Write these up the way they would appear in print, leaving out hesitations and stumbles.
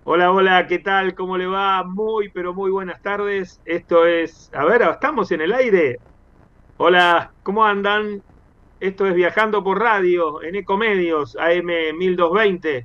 Hola, hola, ¿qué tal? ¿Cómo le va? Muy, pero muy buenas tardes. Esto es, a ver, estamos en el aire. Hola, ¿cómo andan? Esto es Viajando por Radio en Ecomedios, AM 1220,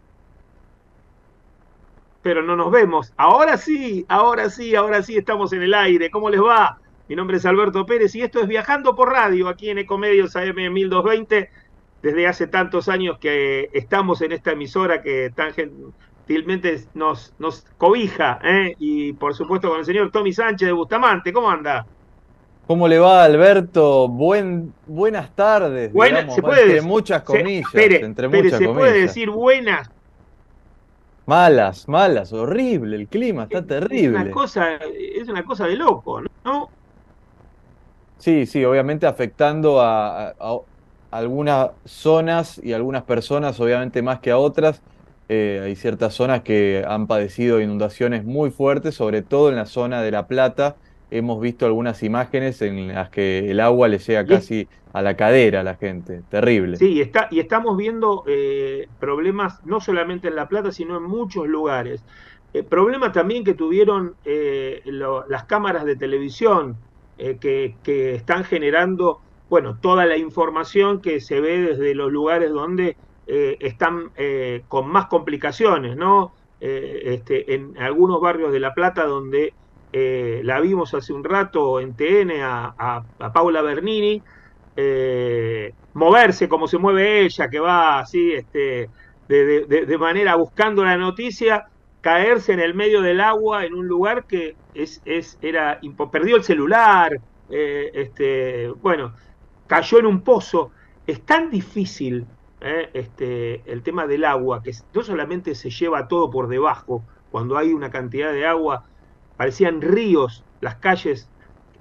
pero no nos vemos. Ahora sí, ahora sí, ahora sí estamos en el aire. ¿Cómo les va? Mi nombre es Alberto Pérez y esto es Viajando por Radio aquí en Ecomedios AM 1220. Desde hace tantos años que estamos en esta emisora que tan gentilmente nos cobija, ¿eh? Y por supuesto con el señor Tommy Sánchez de Bustamante. ¿Cómo anda? ¿Cómo le va, Alberto? Buenas tardes, Buena, se digamos, puede entre decir, muchas comillas, Pere, entre Pere, muchas se puede comillas. decir buenas. Malas, malas, horrible, el clima está Es terrible. es una cosa de loco, ¿no? Sí, sí, obviamente afectando a algunas zonas y algunas personas, obviamente más que a otras. Hay ciertas zonas que han padecido inundaciones muy fuertes, sobre todo en la zona de La Plata. Hemos visto algunas imágenes en las que el agua le llega Y es, casi a la cadera a la gente. Terrible. sí, y estamos viendo problemas no solamente en La Plata, sino en muchos lugares. Problemas también que tuvieron las cámaras de televisión que están generando, bueno, toda la información que se ve desde los lugares donde están con más complicaciones, ¿no? En algunos barrios de La Plata donde la vimos hace un rato en TN a Paula Bernini moverse como se mueve ella, que va así, de manera buscando la noticia, caerse en el medio del agua en un lugar que perdió el celular, bueno, cayó en un pozo. Es tan difícil el tema del agua, que no solamente se lleva todo por debajo, cuando hay una cantidad de agua, parecían ríos las calles,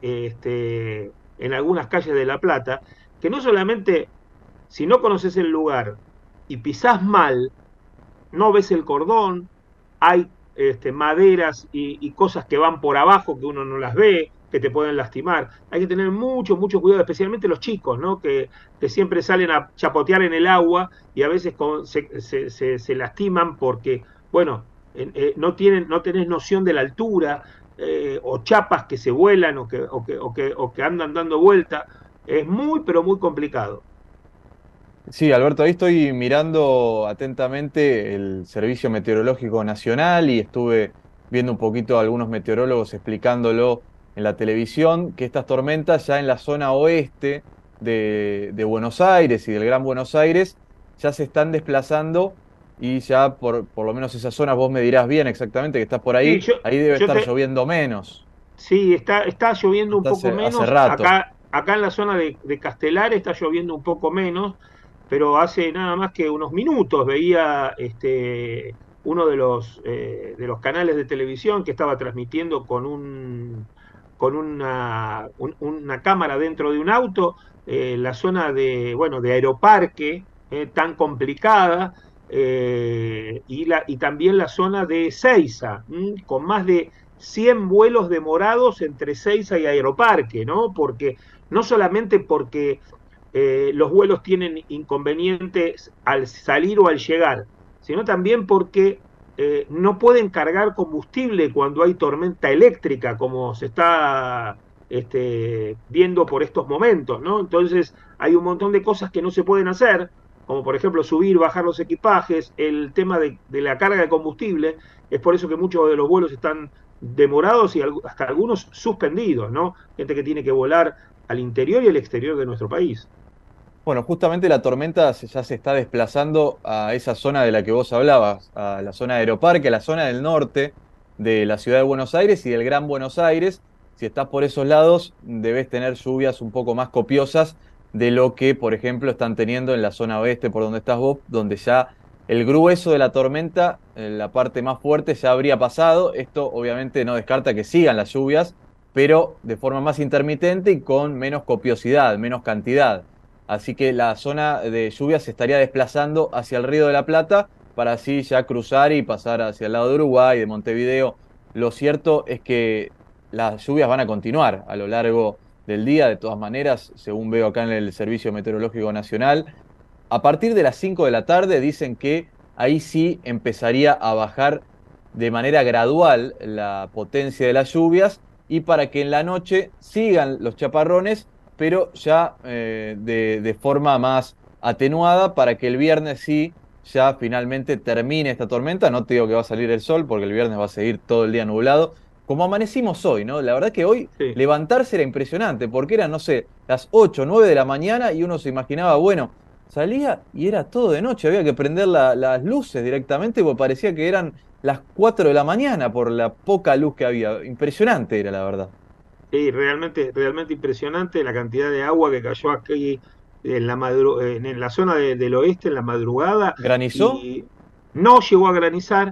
en algunas calles de La Plata, que no solamente si no conoces el lugar y pisás mal, no ves el cordón, hay maderas y cosas que van por abajo que uno no las ve, que te pueden lastimar. Hay que tener mucho, mucho cuidado, especialmente los chicos, ¿no? Que siempre salen a chapotear en el agua y a veces se lastiman porque, bueno, no tenés noción de la altura, o chapas que se vuelan o que andan dando vuelta. Es muy, pero muy complicado. Sí, Alberto, ahí estoy mirando atentamente el Servicio Meteorológico Nacional y estuve viendo un poquito a algunos meteorólogos explicándolo en la televisión, que estas tormentas ya en la zona oeste de Buenos Aires y del Gran Buenos Aires ya se están desplazando y ya por lo menos esas zonas, vos me dirás bien exactamente que estás por Sí, ahí debe yo estar te, lloviendo menos. sí, está lloviendo un Hasta poco hace menos. rato. Acá en la zona de Castelar está lloviendo un poco menos, pero hace nada más que unos minutos veía uno de los canales de televisión que estaba transmitiendo con una cámara dentro de un auto, la zona bueno, de Aeroparque, tan complicada, y también la zona de Ceiza, con más de 100 vuelos demorados entre Ceiza y Aeroparque, ¿no? Porque no solamente porque los vuelos tienen inconvenientes al salir o al llegar, sino también porque no pueden cargar combustible cuando hay tormenta eléctrica, como se está viendo por estos momentos, ¿no? Entonces hay un montón de cosas que no se pueden hacer, como por ejemplo subir, bajar los equipajes, el tema de la carga de combustible. Es por eso que muchos de los vuelos están demorados y hasta algunos suspendidos, ¿no? Gente que tiene que volar al interior y al exterior de nuestro país. Bueno, justamente la tormenta ya se está desplazando a esa zona de la que vos hablabas, a la zona de Aeroparque, a la zona del norte de la ciudad de Buenos Aires y del Gran Buenos Aires. Si estás por esos lados, debes tener lluvias un poco más copiosas de lo que, por ejemplo, están teniendo en la zona oeste, por donde estás vos, donde ya el grueso de la tormenta, la parte más fuerte, ya habría pasado. Esto obviamente no descarta que sigan las lluvias, pero de forma más intermitente y con menos copiosidad, menos cantidad. Así que la zona de lluvia se estaría desplazando hacia el Río de la Plata para así ya cruzar y pasar hacia el lado de Uruguay, de Montevideo. Lo cierto es que las lluvias van a continuar a lo largo del día, de todas maneras, según veo acá en el Servicio Meteorológico Nacional. A partir de las 5 de la tarde dicen que ahí sí empezaría a bajar de manera gradual la potencia de las lluvias y para que en la noche sigan los chaparrones, pero ya de forma más atenuada, para que el viernes sí ya finalmente termine esta tormenta. No te digo que va a salir el sol, porque el viernes va a seguir todo el día nublado, como amanecimos hoy, ¿no? La verdad que hoy Sí. levantarse era impresionante, porque eran, no sé, las 8 o 9 de la mañana y uno se imaginaba, bueno, salía y era todo de noche, había que prender las luces directamente, porque parecía que eran las 4 de la mañana por la poca luz que había. Impresionante era, la verdad. Sí, realmente, realmente impresionante la cantidad de agua que cayó aquí en la zona del oeste en la madrugada ¿Granizó? y no llegó a granizar,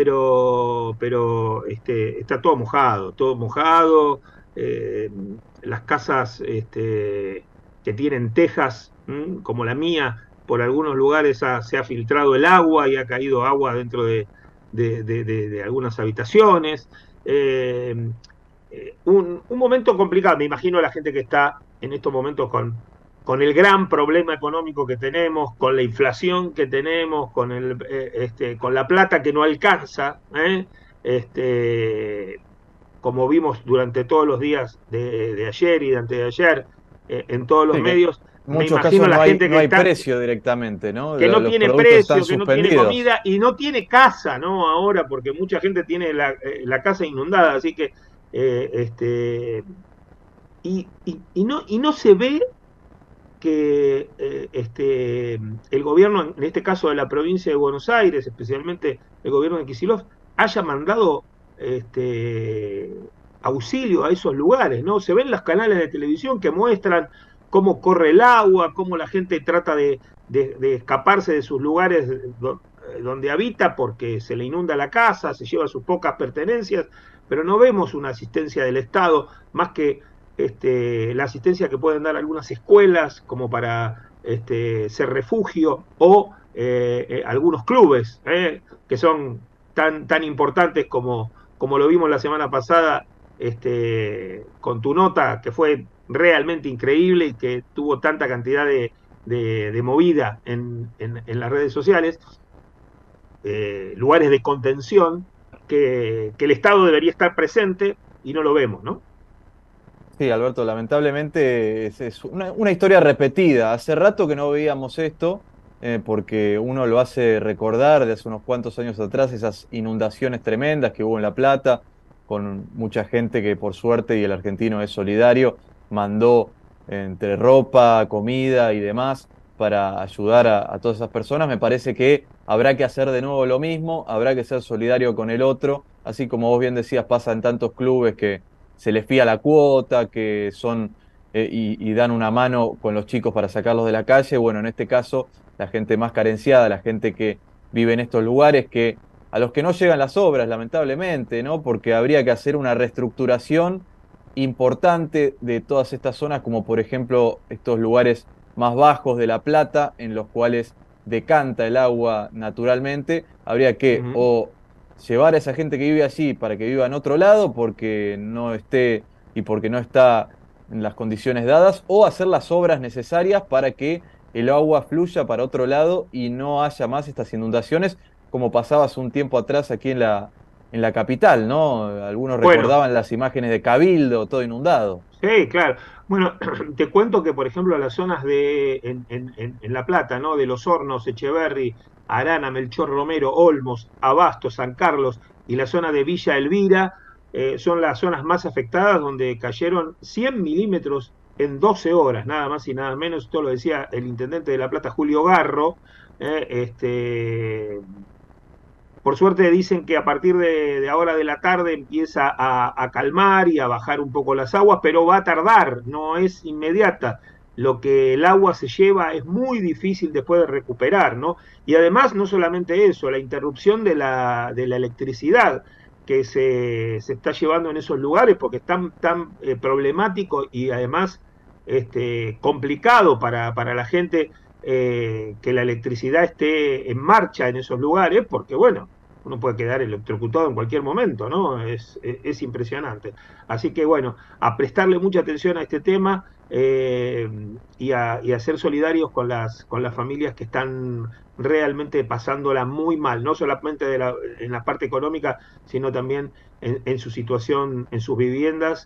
pero está todo mojado, eh, las casas que tienen tejas, como la mía, por algunos lugares se ha filtrado el agua y ha caído agua dentro de algunas habitaciones. Eh, un momento complicado. Me imagino a la gente que está en estos momentos con el gran problema económico que tenemos, con la inflación que tenemos, con la plata que no alcanza, este, como vimos durante todos los días de ayer y de antes de ayer, en todos los Sí, que en medios. Me muchos imagino casos la gente no que hay está, precio directamente, ¿no? que no Los tiene productos están precio, que no tiene suspendidos. comida y no tiene casa, ¿no? Ahora, porque mucha gente tiene la casa inundada, así que eh, este, y no se ve que el gobierno, en este caso de la provincia de Buenos Aires, especialmente el gobierno de Kicillof, haya mandado este, auxilio a esos lugares, ¿no? Se ven los canales de televisión que muestran cómo corre el agua, cómo la gente trata de escaparse de sus lugares donde habita porque se le inunda la casa, se lleva sus pocas pertenencias, pero no vemos una asistencia del Estado más que la asistencia que pueden dar algunas escuelas como para ser refugio o algunos clubes que son tan importantes como lo vimos la semana pasada con tu nota, que fue realmente increíble y que tuvo tanta cantidad de movida en las redes sociales, lugares de contención que el Estado debería estar presente y no lo vemos, ¿no? Sí, Alberto, lamentablemente es una historia repetida. Hace rato que no veíamos esto, porque uno lo hace recordar de hace unos cuantos años atrás, esas inundaciones tremendas que hubo en La Plata, con mucha gente que por suerte, y el argentino es solidario, mandó entre ropa, comida y demás para ayudar a todas esas personas. Me parece que habrá que hacer de nuevo lo mismo, habrá que ser solidario con el otro, así como vos bien decías, pasa en tantos clubes que se les fía la cuota, que son y dan una mano con los chicos para sacarlos de la calle. Bueno, en este caso, la gente más carenciada, la gente que vive en estos lugares, que a los que no llegan las obras, lamentablemente, ¿no? Porque habría que hacer una reestructuración importante de todas estas zonas, como por ejemplo estos lugares más bajos de La Plata, en los cuales decanta el agua naturalmente. Habría que Uh -huh. o llevar a esa gente que vive allí para que viva en otro lado porque no esté y porque no está en las condiciones dadas, o hacer las obras necesarias para que el agua fluya para otro lado y no haya más estas inundaciones como pasaba hace un tiempo atrás aquí en la capital, ¿no? Algunos Bueno, recordaban las imágenes de Cabildo, todo inundado. sí, claro. Bueno, te cuento que, por ejemplo, las zonas en La Plata, ¿no? De Los Hornos, Echeverry, Arana, Melchor Romero, Olmos, Abasto, San Carlos y la zona de Villa Elvira, son las zonas más afectadas donde cayeron 100 milímetros en 12 horas, nada más y nada menos. Esto lo decía el intendente de La Plata, Julio Garro. eh, este, por suerte dicen que a partir de ahora de la tarde empieza a calmar y a bajar un poco las aguas, pero va a tardar, no es inmediata. Lo que el agua se lleva es muy difícil después de recuperar, ¿no? Y además, no solamente eso, la interrupción de la electricidad que se está llevando en esos lugares, porque es tan problemático y además complicado para la gente que la electricidad esté en marcha en esos lugares, porque bueno, uno puede quedar electrocutado en cualquier momento, ¿no? Es impresionante. Así que bueno, a prestarle mucha atención a este tema y a ser solidarios con las familias que están realmente pasándola muy mal, no solamente en la parte económica, sino también en su situación, en sus viviendas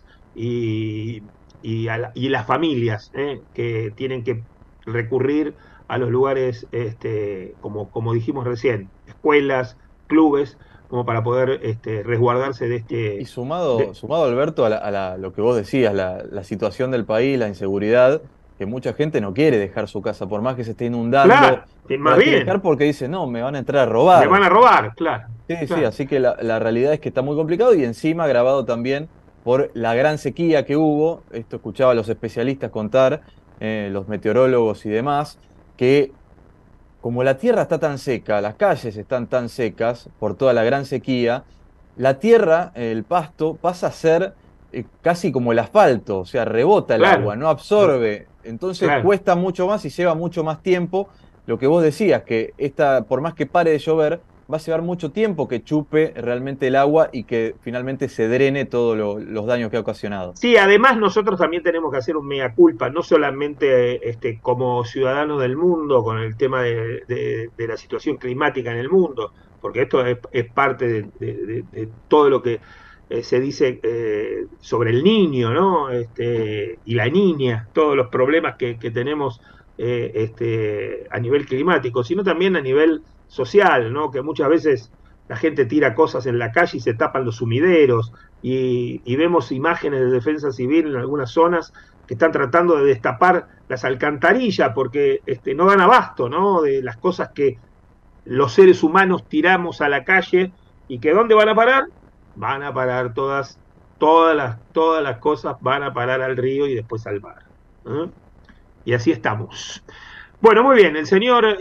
y las familias que tienen que recurrir a los lugares, como dijimos recién, escuelas, clubes, como para poder resguardarse de Y este... sumado, de- sumado Alberto, lo que vos decías, la situación del país, la inseguridad, que mucha gente no quiere dejar su casa, por más que se esté inundando, claro, no más la quiere dejar bien, porque dice, no, me van a entrar a me robar. van a robar, claro, Sí, sí, claro. así que la realidad es que está muy complicado y encima agravado también por la gran sequía que hubo. Esto escuchaba a los especialistas contar, los meteorólogos y demás, que como la tierra está tan seca, las calles están tan secas por toda la gran sequía, la tierra, el pasto, pasa a ser casi como el asfalto, o sea, rebota el agua, Claro, no absorbe, entonces claro. cuesta mucho más y lleva mucho más tiempo. Lo que vos decías, que por más que pare de llover, va a llevar mucho tiempo que chupe realmente el agua y que finalmente se drene todos los daños que ha ocasionado. Sí, además nosotros también tenemos que hacer un mea culpa, no solamente como ciudadanos del mundo con el tema de la situación climática en el mundo, porque esto es parte de todo lo que se dice sobre el niño, ¿no? Y la niña, todos los problemas que tenemos a nivel climático, sino también a nivel social, ¿no? Que muchas veces la gente tira cosas en la calle y se tapan los sumideros y vemos imágenes de defensa civil en algunas zonas que están tratando de destapar las alcantarillas porque no dan abasto, ¿no? De las cosas que los seres humanos tiramos a la calle y que ¿dónde van a parar? Van a parar todas las cosas van a parar al río y después al mar. ¿Eh? Y así estamos. Bueno, muy bien, el señor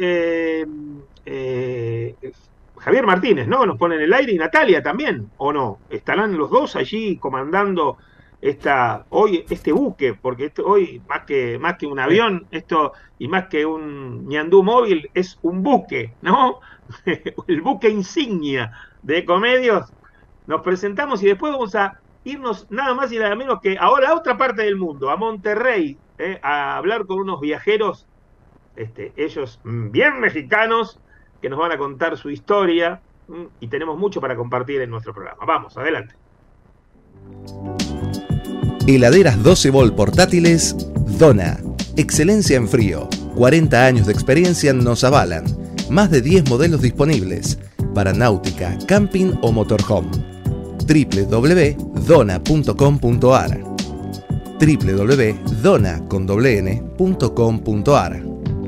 eh, Javier Martínez, ¿no? Nos pone en el aire y Natalia también, ¿o no? ¿Estarán los dos allí comandando hoy este buque? Porque hoy, más que un Sí. avión, esto, y más que un ñandú móvil, es un buque, ¿no? El buque insignia de Ecomedios. Nos presentamos y después vamos a irnos nada más y nada menos que ahora a otra parte del mundo, a Monterrey, a hablar con unos viajeros, ellos bien mexicanos, que nos van a contar su historia y tenemos mucho para compartir en nuestro programa. Vamos, adelante. Heladeras 12 volt portátiles Dona. Excelencia en frío. 40 años de experiencia nos avalan. Más de 10 modelos disponibles para náutica, camping o motorhome. www.dona.com.ar www.dona.com.ar.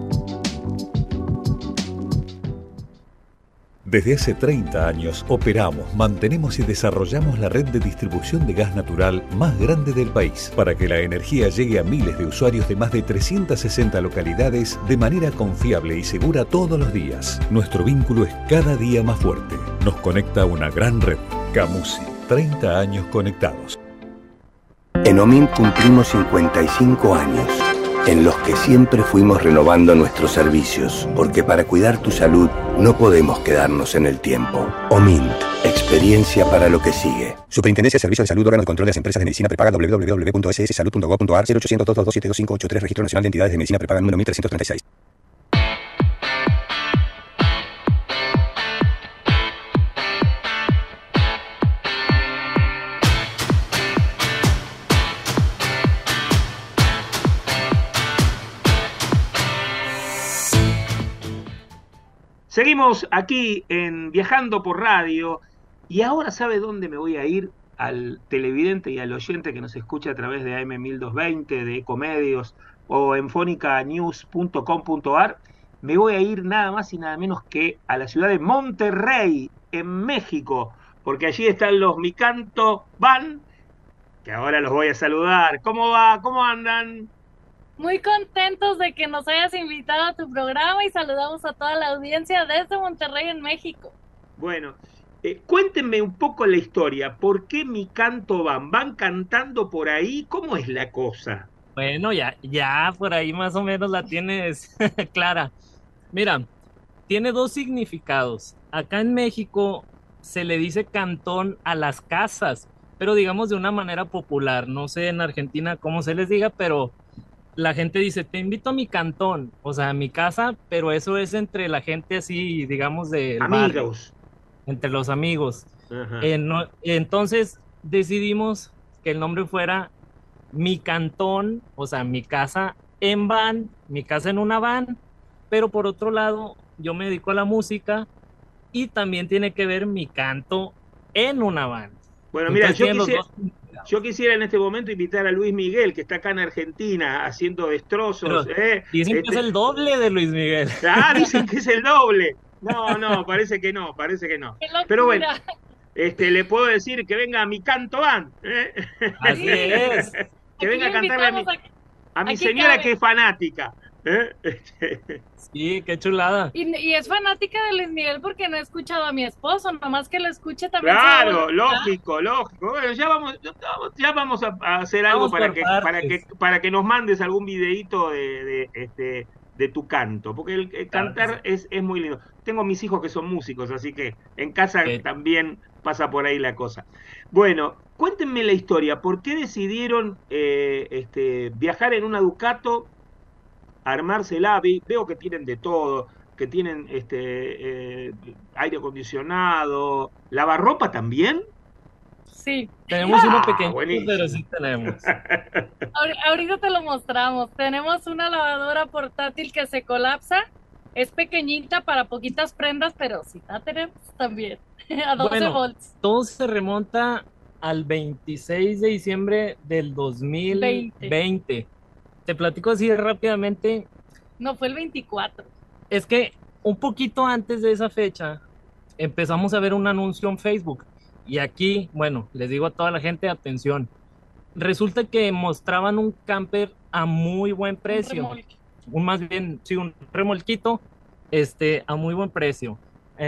Desde hace 30 años operamos, mantenemos y desarrollamos la red de distribución de gas natural más grande del país para que la energía llegue a miles de usuarios de más de 360 localidades de manera confiable y segura todos los días. Nuestro vínculo es cada día más fuerte. Nos conecta a una gran red. Camusi, 30 años conectados. En OMINT cumplimos 55 años, en los que siempre fuimos renovando nuestros servicios, porque para cuidar tu salud no podemos quedarnos en el tiempo. OMINT, experiencia para lo que sigue. Superintendencia de Servicios de Salud, órgano de control de las empresas de medicina prepaga, www.sssalud.gov.ar, 0800 227 2583, Registro Nacional de Entidades de Medicina Prepaga, número 1336. Seguimos aquí en Viajando por Radio y ahora ¿sabe dónde me voy a ir? Al televidente y al oyente que nos escucha a través de AM1220, de Ecomedios o en fonicanews.com.ar. Me voy a ir nada más y nada menos que a la ciudad de Monterrey, en México, porque allí están los Mi Canto Van, que ahora los voy a saludar. ¿Cómo va? ¿Cómo andan? Muy contentos de que nos hayas invitado a tu programa y saludamos a toda la audiencia desde Monterrey, en México. Bueno, cuéntenme un poco la historia. ¿Por qué Mi Canto Van? ¿Van cantando por ahí? ¿Cómo es la cosa? Bueno, ya por ahí más o menos la tienes clara. Mira, tiene dos significados. Acá en México se le dice cantón a las casas, pero digamos de una manera popular. No sé en Argentina cómo se les diga, pero la gente dice, te invito a mi cantón, o sea, a mi casa, pero eso es entre la gente así, digamos, del barrio, Amigos. entre los amigos. Ajá. Entonces decidimos que el nombre fuera Mi Cantón, o sea, mi casa en van, mi casa en una van, pero por otro lado, yo me dedico a la música y también tiene que ver mi canto en una van. Bueno, mira, Entonces tienen los dos significados. yo quisiera en este momento invitar a Luis Miguel, que está acá en Argentina haciendo destrozos. Pero dicen que es el doble de Luis Miguel. Dicen que es el doble. No, parece que no, parece que no. ¡Qué Pero bueno, locura! le puedo decir que venga a mi canto van, ¿eh? Así es. Que Aquí venga a lo cantarle invitamos a mi aquí señora cabe. que es fanática. ¿Eh? Sí, qué chulada. Y es fanática de Luis Miguel porque no he escuchado a mi esposo, nomás que lo escuche también. Claro, lógico. Bueno, ya vamos a hacer algo Vamos por partes. para que nos mandes algún videíto de tu canto, porque el Claro que cantar es muy lindo. Tengo mis hijos que son músicos, así que en casa sí. también pasa por ahí la cosa. Bueno, cuéntenme la historia. ¿Por qué decidieron viajar en una Ducato, armársela? Veo que tienen de todo, que tienen aire acondicionado, lavarropa también. Sí, Tenemos uno pequeño, buenísimo. pero sí tenemos. ahorita te lo mostramos. Tenemos una lavadora portátil que se colapsa. Es pequeñita para poquitas prendas, pero sí la tenemos también. A 12 Bueno, volts. todo se remonta al 26 de diciembre del 2020. Te platico así rápidamente. No, fue el 24. Es que un poquito antes de esa fecha empezamos a ver un anuncio en Facebook. Y aquí, bueno, les digo a toda la gente, atención. Resulta que mostraban un camper a muy buen precio. Más bien, sí, un remolquito, a muy buen precio.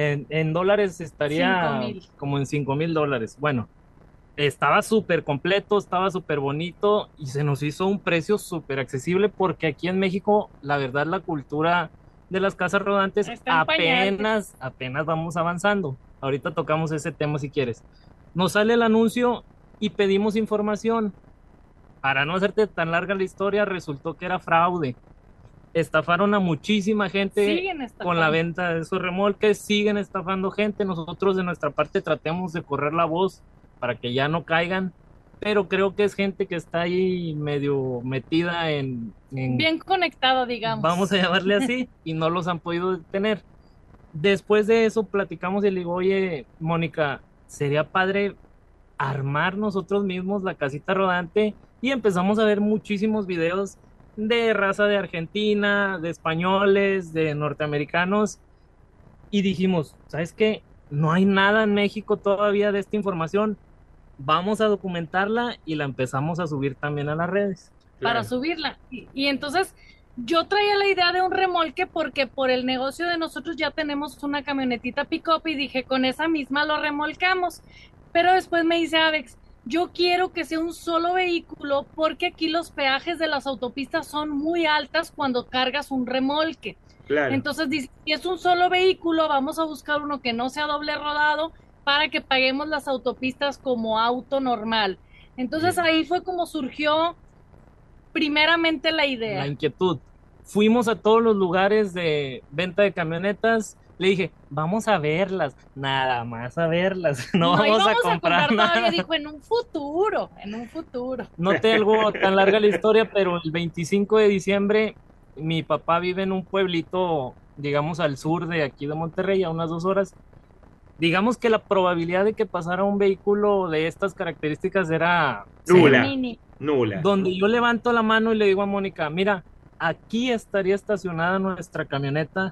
En dólares estaría 5,000. como en $5,000. Bueno, estaba súper completo, estaba súper bonito y se nos hizo un precio súper accesible porque aquí en México, la verdad, la cultura de las casas rodantes Está en pañales. apenas vamos avanzando. Ahorita tocamos ese tema si quieres. Nos sale el anuncio y pedimos información. Para no hacerte tan larga la historia, resultó que era fraude. Estafaron a muchísima gente Siguen estafando. con la venta de esos remolques, siguen estafando gente. Nosotros de nuestra parte tratemos de correr la voz para que ya no caigan, pero creo que es gente que está ahí medio metida en Bien conectada, digamos. vamos a llamarle así, y no los han podido detener. Después de eso platicamos y le digo, oye, Mónica, sería padre armar nosotros mismos la casita rodante, y empezamos a ver muchísimos videos de raza de Argentina, de españoles, de norteamericanos, y dijimos, ¿sabes qué? No hay nada en México todavía de esta información, vamos a documentarla y la empezamos a subir también a las redes. Para Claro. subirla. Y entonces yo traía la idea de un remolque porque por el negocio de nosotros ya tenemos una camionetita pick-up y dije, con esa misma lo remolcamos. Pero después me dice Avex, yo quiero que sea un solo vehículo porque aquí los peajes de las autopistas son muy altas cuando cargas un remolque. Claro. Entonces dice, si es un solo vehículo, vamos a buscar uno que no sea doble rodado para que paguemos las autopistas como auto normal. Entonces Bien. ahí fue como surgió primeramente la La idea. inquietud. Fuimos a todos los lugares de venta de camionetas, le dije, vamos a verlas, nada más a verlas, no vamos íbamos a comprar todavía, nada. dijo, en un futuro, en un futuro. No te algo tan larga la historia, pero el 25 de diciembre mi papá vive en un pueblito, digamos, al sur de aquí de Monterrey, a unas 2 horas. Digamos que la probabilidad de que pasara un vehículo de estas características era Nula. Mini. Nula. donde yo levanto la mano y le digo a Mónica, mira, aquí estaría estacionada nuestra camioneta.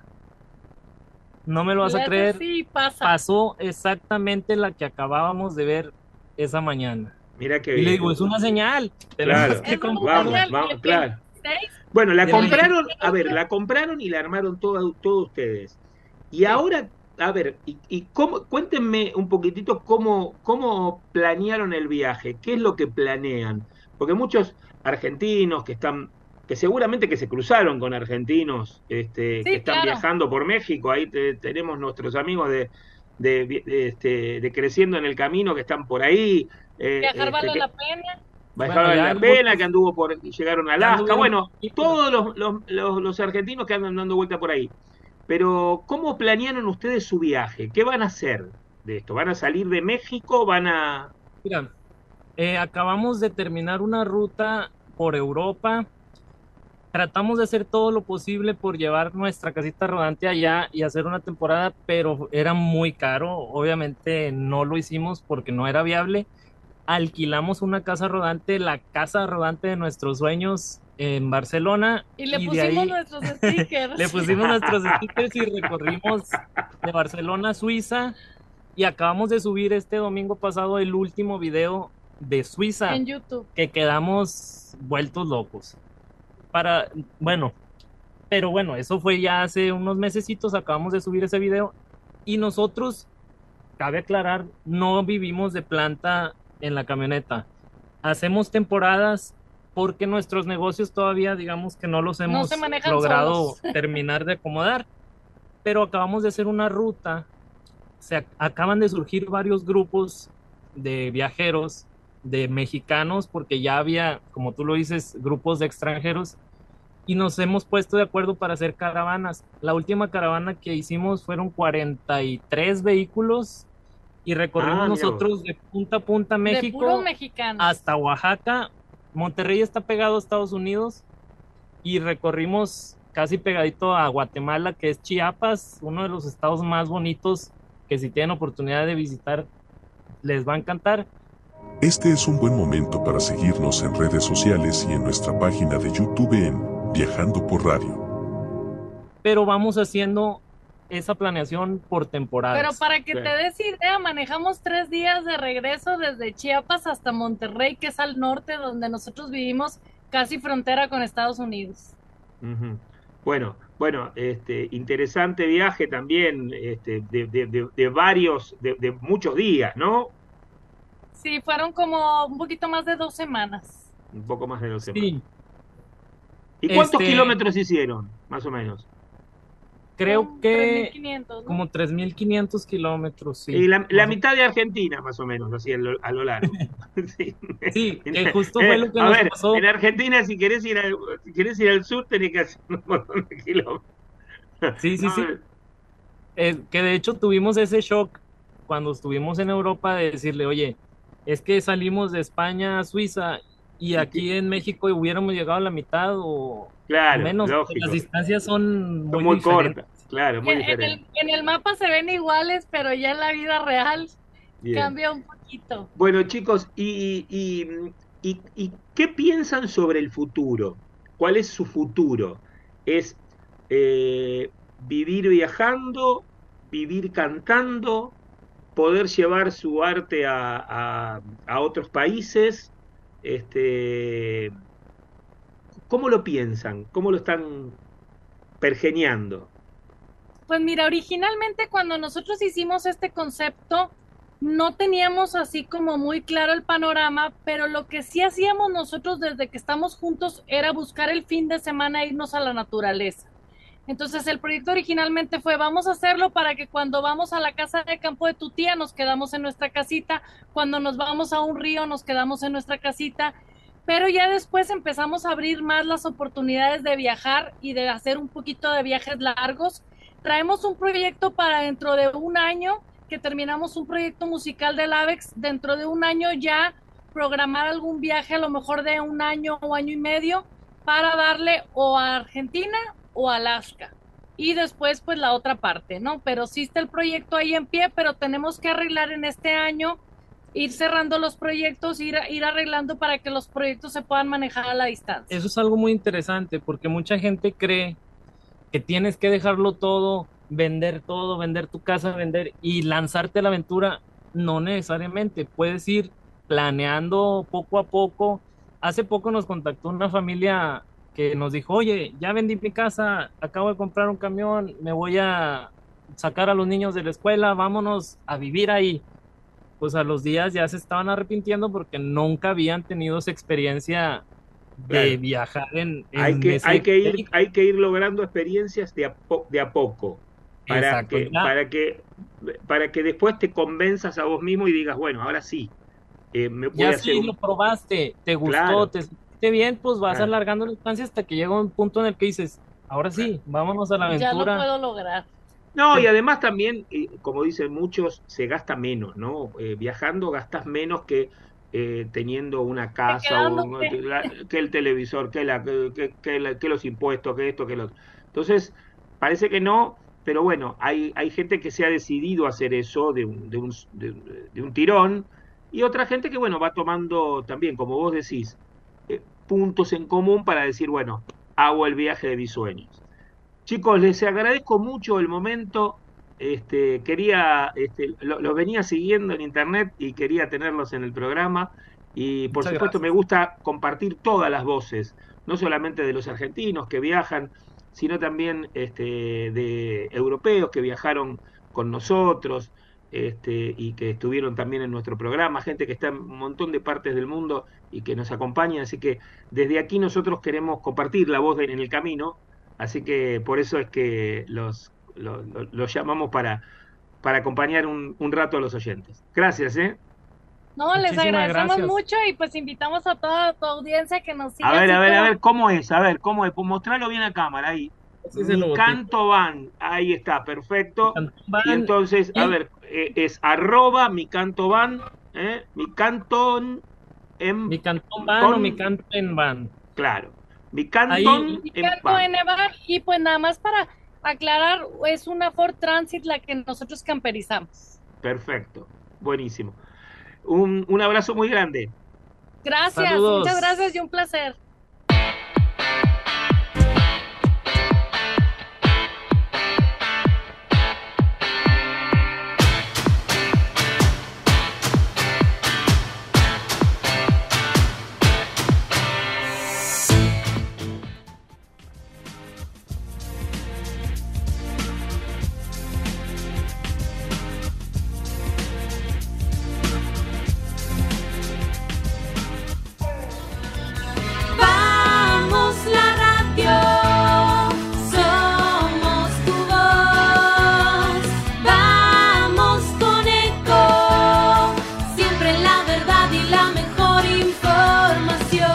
No me lo vas a creer. Sí, pasa. Pasó exactamente la que acabábamos de ver esa mañana. Mira qué Y bien. le digo, es una señal. Claro. Tenemos que Es una comprarla. señal. Vamos, Y claro. 6, Bueno, la De compraron, verdad. a ver, la compraron y la armaron todos ustedes. Y ahora, a ver, cuéntenme un poquitito cómo planearon el viaje, qué es lo que planean. Porque muchos argentinos que seguramente que se cruzaron con argentinos que están claro. viajando por México, ahí tenemos nuestros amigos de Creciendo en el Camino que están por ahí. Viajar vale la pena. Bajaron la pena, que anduvo llegaron a Alaska, bueno, todos los argentinos que andan dando vuelta por ahí. Pero, ¿cómo planearon ustedes su viaje? ¿Qué van a hacer de esto? ¿Van a salir de México? Mira, acabamos de terminar una ruta por Europa. Tratamos de hacer todo lo posible por llevar nuestra casita rodante allá y hacer una temporada, pero era muy caro. Obviamente no lo hicimos porque no era viable. Alquilamos una casa rodante, la casa rodante de nuestros sueños en Barcelona. Y le pusimos nuestros stickers. Le pusimos nuestros stickers y recorrimos de Barcelona a Suiza. Y acabamos de subir este domingo pasado el último video de Suiza. En YouTube. Que quedamos vueltos locos. Pero bueno, eso fue ya hace unos mesecitos, acabamos de subir ese video. Y nosotros, cabe aclarar, no vivimos de planta en la camioneta. Hacemos temporadas porque nuestros negocios todavía, digamos que no los hemos logrado terminar de acomodar. Pero acabamos de hacer una ruta. Acaban de surgir varios grupos de viajeros, de mexicanos, porque ya había, como tú lo dices, grupos de extranjeros, y nos hemos puesto de acuerdo para hacer caravanas. La última caravana que hicimos fueron 43 vehículos y recorrimos nosotros de punta a punta México hasta Oaxaca. Monterrey está pegado a Estados Unidos y recorrimos casi pegadito a Guatemala, que es Chiapas, uno de los estados más bonitos que si tienen oportunidad de visitar les va a encantar. Este es un buen momento para seguirnos en redes sociales y en nuestra página de YouTube en Viajando por Radio. Pero vamos haciendo esa planeación por temporadas. Pero para que te des idea, manejamos 3 días de regreso desde Chiapas hasta Monterrey, que es al norte, donde nosotros vivimos, casi frontera con Estados Unidos. Uh-huh. Bueno, interesante viaje también, de muchos días, ¿no? Sí, fueron como un poquito más de 2 semanas. Un poco más de 2 sí. semanas. ¿Y cuántos kilómetros hicieron, más o menos? Creo que 3.500, ¿no? Como 3.500 kilómetros, sí. Y la mitad de Argentina, más o menos, así a lo largo. Sí, que justo fue lo que nos pasó. En Argentina, si querés ir al sur, tenés que hacer un montón de kilómetros. Sí. Que de hecho tuvimos ese shock cuando estuvimos en Europa de decirle, oye, es que salimos de España a Suiza y aquí en México hubiéramos llegado a la mitad o menos. Lógico. Las distancias son muy cortas. Claro, muy diferentes. En el mapa se ven iguales, pero ya en la vida real cambia un poquito. Bueno, chicos, ¿y qué piensan sobre el futuro? ¿Cuál es su futuro? ¿Es vivir viajando, vivir cantando, poder llevar su arte a otros países? ¿Cómo lo piensan? ¿Cómo lo están pergeñando? Pues mira, originalmente cuando nosotros hicimos este concepto, no teníamos así como muy claro el panorama, pero lo que sí hacíamos nosotros desde que estamos juntos era buscar el fin de semana e irnos a la naturaleza. Entonces el proyecto originalmente fue, vamos a hacerlo para que cuando vamos a la casa de campo de tu tía nos quedamos en nuestra casita, cuando nos vamos a un río nos quedamos en nuestra casita, pero ya después empezamos a abrir más las oportunidades de viajar y de hacer un poquito de viajes largos. Traemos un proyecto para dentro de un año, que terminamos un proyecto musical del AVEX, dentro de un año ya programar algún viaje a lo mejor de un año o año y medio para darle o a Argentina o a Alaska y después pues la otra parte, ¿no? Pero sí está el proyecto ahí en pie, pero tenemos que arreglar en este año, ir cerrando los proyectos, ir arreglando para que los proyectos se puedan manejar a la distancia. Eso es algo muy interesante porque mucha gente cree que tienes que dejarlo todo, vender tu casa, y lanzarte a la aventura. No necesariamente, puedes ir planeando poco a poco. Hace poco nos contactó una familia que nos dijo, oye, ya vendí mi casa, acabo de comprar un camión, me voy a sacar a los niños de la escuela, vámonos a vivir ahí. Pues a los días ya se estaban arrepintiendo porque nunca habían tenido esa experiencia de viajar hay que ir logrando experiencias de a poco para que para que después te convenzas a vos mismo y digas, bueno, ahora sí, me voy a Ya hacer si lo probaste, te gustó, Claro, te sentiste bien, pues vas claro. alargando la distancia hasta que llega un punto en el que dices, ahora sí, vámonos a la Ya lo aventura. puedo lograr. No, y Te- además también, como dicen muchos, se gasta menos, ¿no? Viajando gastas menos que teniendo una casa Quedándote. que el televisor, que los impuestos, que esto, que lo otro. Entonces, parece que no, pero bueno, hay gente que se ha decidido a hacer eso de un tirón y otra gente que, bueno, va tomando también, como vos decís, puntos en común para decir, bueno, hago el viaje de mis sueños. Chicos, les agradezco mucho el momento. Los venía siguiendo en internet y quería tenerlos en el programa. Y por Muchas supuesto me gracias. gusta compartir todas las voces, no solamente de los argentinos que viajan, sino también de europeos que viajaron con nosotros y que estuvieron también en nuestro programa, gente que está en un montón de partes del mundo y que nos acompaña. Así que desde aquí nosotros queremos compartir la voz en el camino. Así que por eso es que los llamamos para acompañar un rato a los oyentes. Gracias, ¿eh? No, les Muchísimas agradecemos gracias. mucho y pues invitamos a toda tu audiencia que nos siga así A como ver, ¿cómo es? A ver, ¿cómo es? Pues mostrarlo bien a cámara, ahí. Ese es el Mi logotipo. Canto Van, ahí está, perfecto. Cantón Y Van entonces, a y ver, es arroba mi canto van, mi canton en mi Cantón Van o mi ton, Canten Van. claro, mi Ahí, canton y en canto van. en Evar. Y pues nada más para aclarar, es una Ford Transit la que nosotros camperizamos. Perfecto, buenísimo. Un abrazo muy grande. Gracias, muchas gracias saludos. y un placer. Vamos la radio, somos tu voz. Vamos con Eco, siempre la verdad y la mejor información.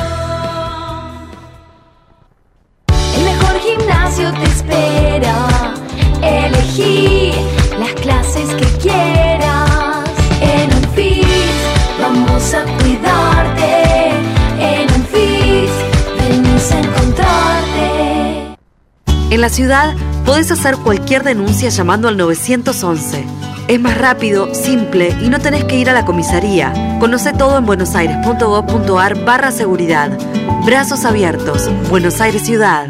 El mejor gimnasio te espera. Elegí las clases que quieras. En Unfit vamos a cuidarte. En Unfit venimos a encontrarte. En la ciudad podés hacer cualquier denuncia llamando al 911. Es más rápido, simple y no tenés que ir a la comisaría. Conoce todo en buenosaires.gov.ar/seguridad. Brazos abiertos. Buenos Aires Ciudad.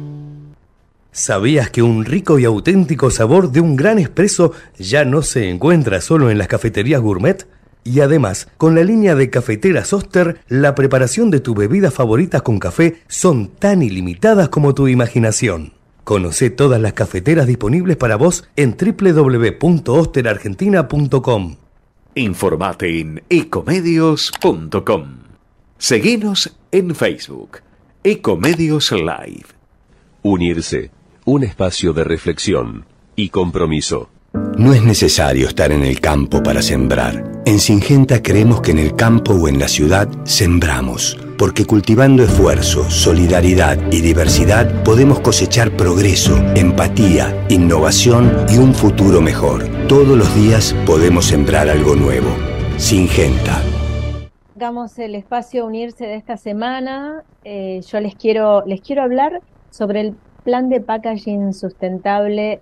¿Sabías que un rico y auténtico sabor de un gran espresso ya no se encuentra solo en las cafeterías gourmet? Y además, con la línea de cafeteras Oster, la preparación de tus bebidas favoritas con café son tan ilimitadas como tu imaginación. Conoce todas las cafeteras disponibles para vos en www.osterargentina.com. Informate en ecomedios.com. Seguinos en Facebook, Ecomedios Live. Unirse, un espacio de reflexión y compromiso. No es necesario estar en el campo para sembrar. En Singenta creemos que en el campo o en la ciudad sembramos, porque cultivando esfuerzo, solidaridad y diversidad podemos cosechar progreso, empatía, innovación y un futuro mejor. Todos los días podemos sembrar algo nuevo. Singenta. Hagamos el espacio Unirse de esta semana. Yo les quiero hablar sobre el plan de packaging sustentable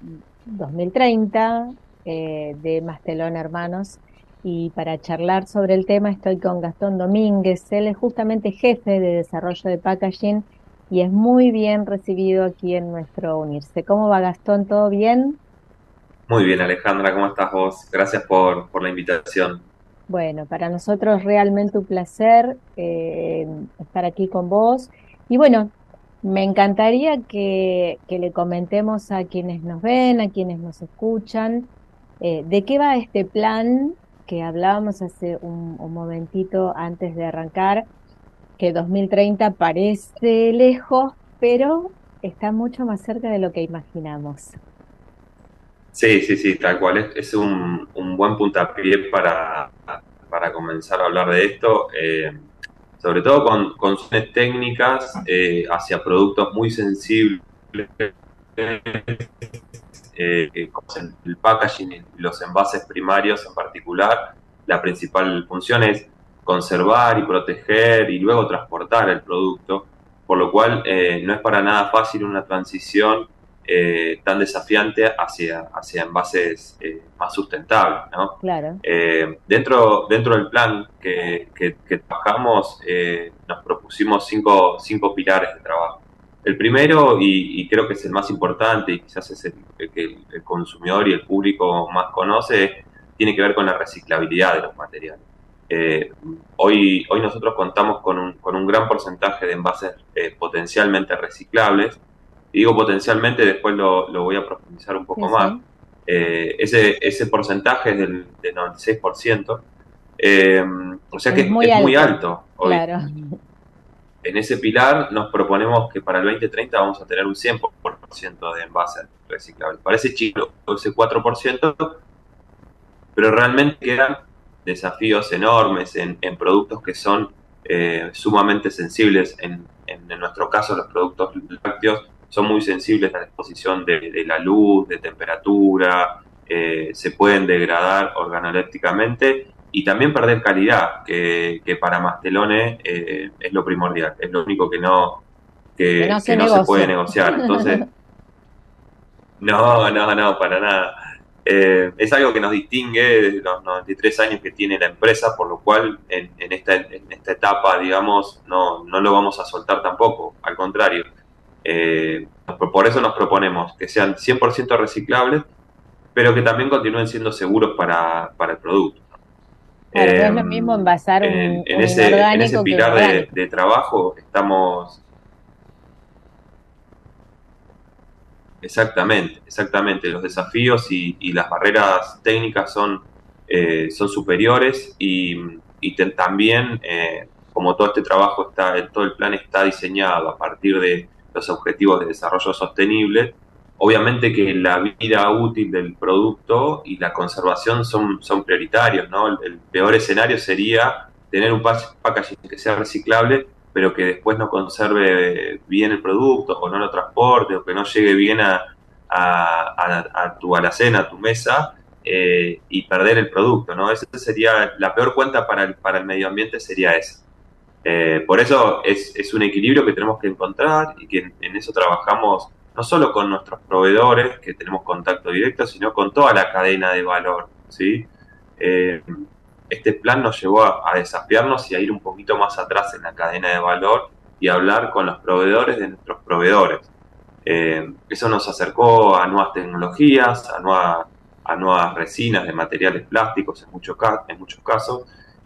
2030 de Mastelón Hermanos. Y para charlar sobre el tema estoy con Gastón Domínguez. Él es justamente jefe de desarrollo de packaging y es muy bien recibido aquí en nuestro Unirse. ¿Cómo va, Gastón? ¿Todo bien? Muy bien, Alejandra, ¿cómo estás vos? Gracias por la invitación. Bueno, para nosotros realmente un placer estar aquí con vos. Y bueno, me encantaría que le comentemos a quienes nos ven, a quienes nos escuchan, de qué va este plan que hablábamos hace un momentito antes de arrancar, que 2030 parece lejos, pero está mucho más cerca de lo que imaginamos. Sí, tal cual. Es un buen puntapié para comenzar a hablar de esto, sobre todo con soluciones técnicas hacia productos muy sensibles, como el packaging y los envases primarios en particular. La principal función es conservar y proteger y luego transportar el producto, por lo cual no es para nada fácil una transición tan desafiante hacia envases más sustentables, ¿no? Claro. Dentro del plan que trabajamos, nos propusimos cinco pilares de trabajo. El primero, y creo que es el más importante y quizás es el que el consumidor y el público más conoce, tiene que ver con la reciclabilidad de los materiales. Hoy nosotros contamos con un gran porcentaje de envases potencialmente reciclables. Y digo potencialmente, después lo voy a profundizar un poco más. Ese porcentaje es del 96%, o sea que es muy alto hoy. Claro. En ese pilar nos proponemos que para el 2030 vamos a tener un 100% de envases reciclables. Parece chico ese 4%, pero realmente quedan desafíos enormes en productos que son sumamente sensibles. En nuestro caso, los productos lácteos son muy sensibles a la exposición de la luz, de temperatura, se pueden degradar organolépticamente y también perder calidad, que para Mastelone es lo primordial, es lo único que no se puede negociar. Entonces, no, para nada. Es algo que nos distingue de los 93 años que tiene la empresa, por lo cual en esta etapa, digamos, no lo vamos a soltar tampoco, al contrario. Por eso nos proponemos que sean 100% reciclables, pero que también continúen siendo seguros para el producto. Claro, no es lo mismo envasar en ese pilar de trabajo estamos... Exactamente. Los desafíos y las barreras técnicas son superiores y también, como todo este trabajo todo el plan está diseñado a partir de los objetivos de desarrollo sostenible, obviamente que la vida útil del producto y la conservación son prioritarios, ¿no? El peor escenario sería tener un packaging que sea reciclable, pero que después no conserve bien el producto, o no lo transporte, o que no llegue bien a tu alacena, a tu mesa, y perder el producto, ¿no? Esa sería la peor cuenta para el medio ambiente, sería esa. Por eso es un equilibrio que tenemos que encontrar y que en eso trabajamos no solo con nuestros proveedores, que tenemos contacto directo, sino con toda la cadena de valor, ¿sí? Este plan nos llevó a desafiarnos y a ir un poquito más atrás en la cadena de valor y hablar con los proveedores de nuestros proveedores. Eso nos acercó a nuevas tecnologías, a nuevas resinas de materiales plásticos en muchos casos,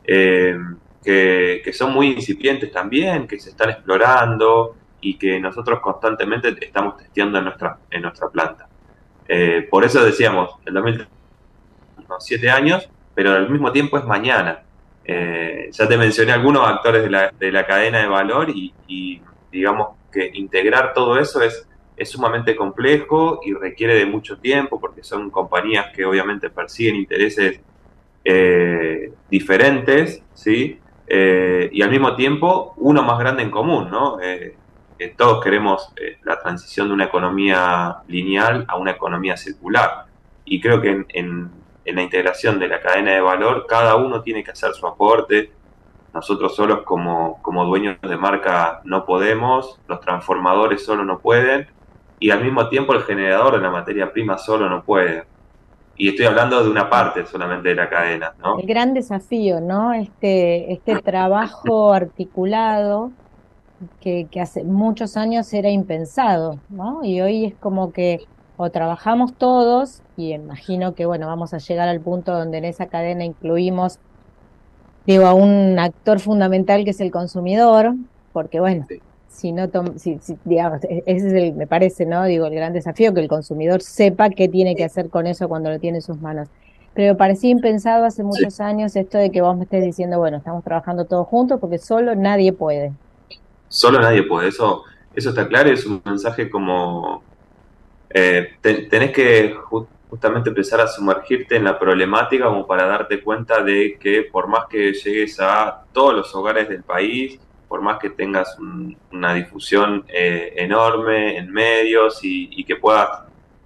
que son muy incipientes también, que se están explorando y que nosotros constantemente estamos testeando en nuestra planta. Por eso decíamos, el 2030, unos 7 años, pero al mismo tiempo es mañana. Ya te mencioné algunos actores de la cadena de valor y digamos que integrar todo eso es sumamente complejo y requiere de mucho tiempo porque son compañías que obviamente persiguen intereses diferentes, ¿sí? Y al mismo tiempo uno más grande en común, ¿no? Todos queremos la transición de una economía lineal a una economía circular. Y creo que en la integración de la cadena de valor, cada uno tiene que hacer su aporte. Nosotros solos como dueños de marca no podemos, los transformadores solo no pueden, y al mismo tiempo el generador de la materia prima solo no puede. Y estoy hablando de una parte solamente de la cadena, ¿no? El gran desafío, ¿no? Este trabajo articulado que hace muchos años era impensado, ¿no? Y hoy es como que o trabajamos todos, y imagino que, bueno, vamos a llegar al punto donde en esa cadena incluimos, digo, a un actor fundamental que es el consumidor, porque, bueno, sí. Digamos, ese es me parece, ¿no? Digo, el gran desafío, que el consumidor sepa qué tiene que hacer con eso cuando lo tiene en sus manos. Pero parecía impensado hace muchos años esto de que vos me estés diciendo, bueno, estamos trabajando todos juntos porque solo nadie puede. Solo nadie puede, eso está claro, y es un mensaje como tenés que justamente empezar a sumergirte en la problemática como para darte cuenta de que por más que llegues a todos los hogares del país, por más que tengas una difusión enorme en medios y que puedas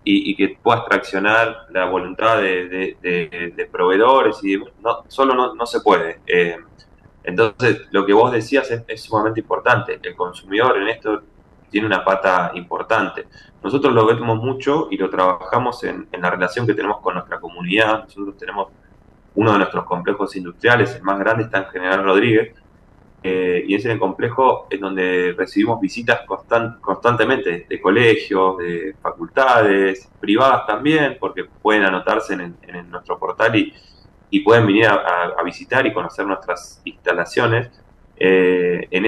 traccionar la voluntad de proveedores y solo no se puede. Entonces, lo que vos decías es sumamente importante. El consumidor en esto tiene una pata importante. Nosotros lo vemos mucho y lo trabajamos en la relación que tenemos con nuestra comunidad. Nosotros tenemos uno de nuestros complejos industriales, el más grande, está en General Rodríguez, y es en el complejo en donde recibimos visitas constantemente de colegios, de facultades, privadas también, porque pueden anotarse en nuestro portal y pueden venir a visitar y conocer nuestras instalaciones. En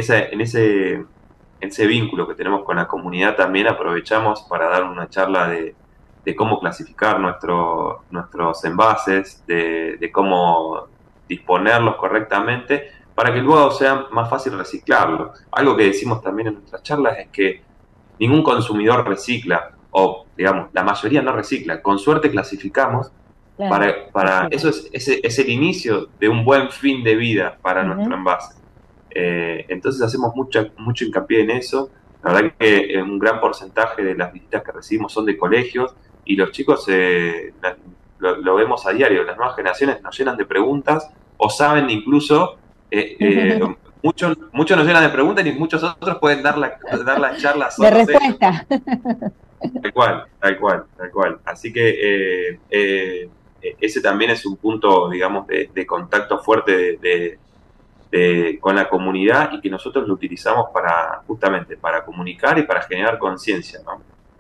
ese vínculo que tenemos con la comunidad también aprovechamos para dar una charla de cómo clasificar nuestros envases, de cómo disponerlos correctamente para que luego sea más fácil reciclarlo. Algo que decimos también en nuestras charlas es que ningún consumidor recicla, o digamos, la mayoría no recicla. Con suerte clasificamos. Claro. Eso es el inicio de un buen fin de vida para nuestro envase. Entonces hacemos mucho hincapié en eso. La verdad que un gran porcentaje de las visitas que recibimos son de colegios y los chicos lo vemos a diario. Las nuevas generaciones nos llenan de preguntas o saben incluso, muchos nos llenan de preguntas y muchos otros pueden dar la charla de respuesta. Tal cual. Así que ese también es un punto, digamos, de contacto fuerte con la comunidad y que nosotros lo utilizamos justamente para comunicar y para generar conciencia, ¿no?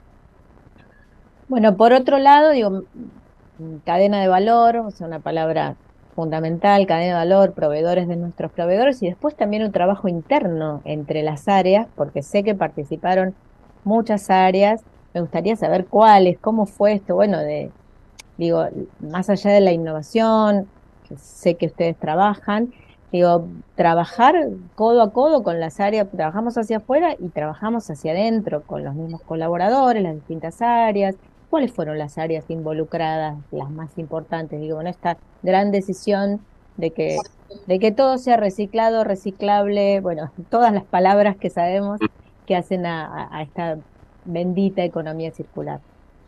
Bueno, por otro lado, digo, cadena de valor, o sea, una palabra fundamental, cadena de valor, proveedores de nuestros proveedores y después también un trabajo interno entre las áreas, porque sé que participaron muchas áreas. Me gustaría saber cuáles, cómo fue esto, bueno, digo, más allá de la innovación, que sé que ustedes trabajan, digo, trabajar codo a codo con las áreas, trabajamos hacia afuera y trabajamos hacia adentro con los mismos colaboradores, las distintas áreas. ¿Cuáles fueron las áreas involucradas, las más importantes? Digo, en esta gran decisión de que todo sea reciclado, reciclable, bueno, todas las palabras que sabemos que hacen a esta bendita economía circular.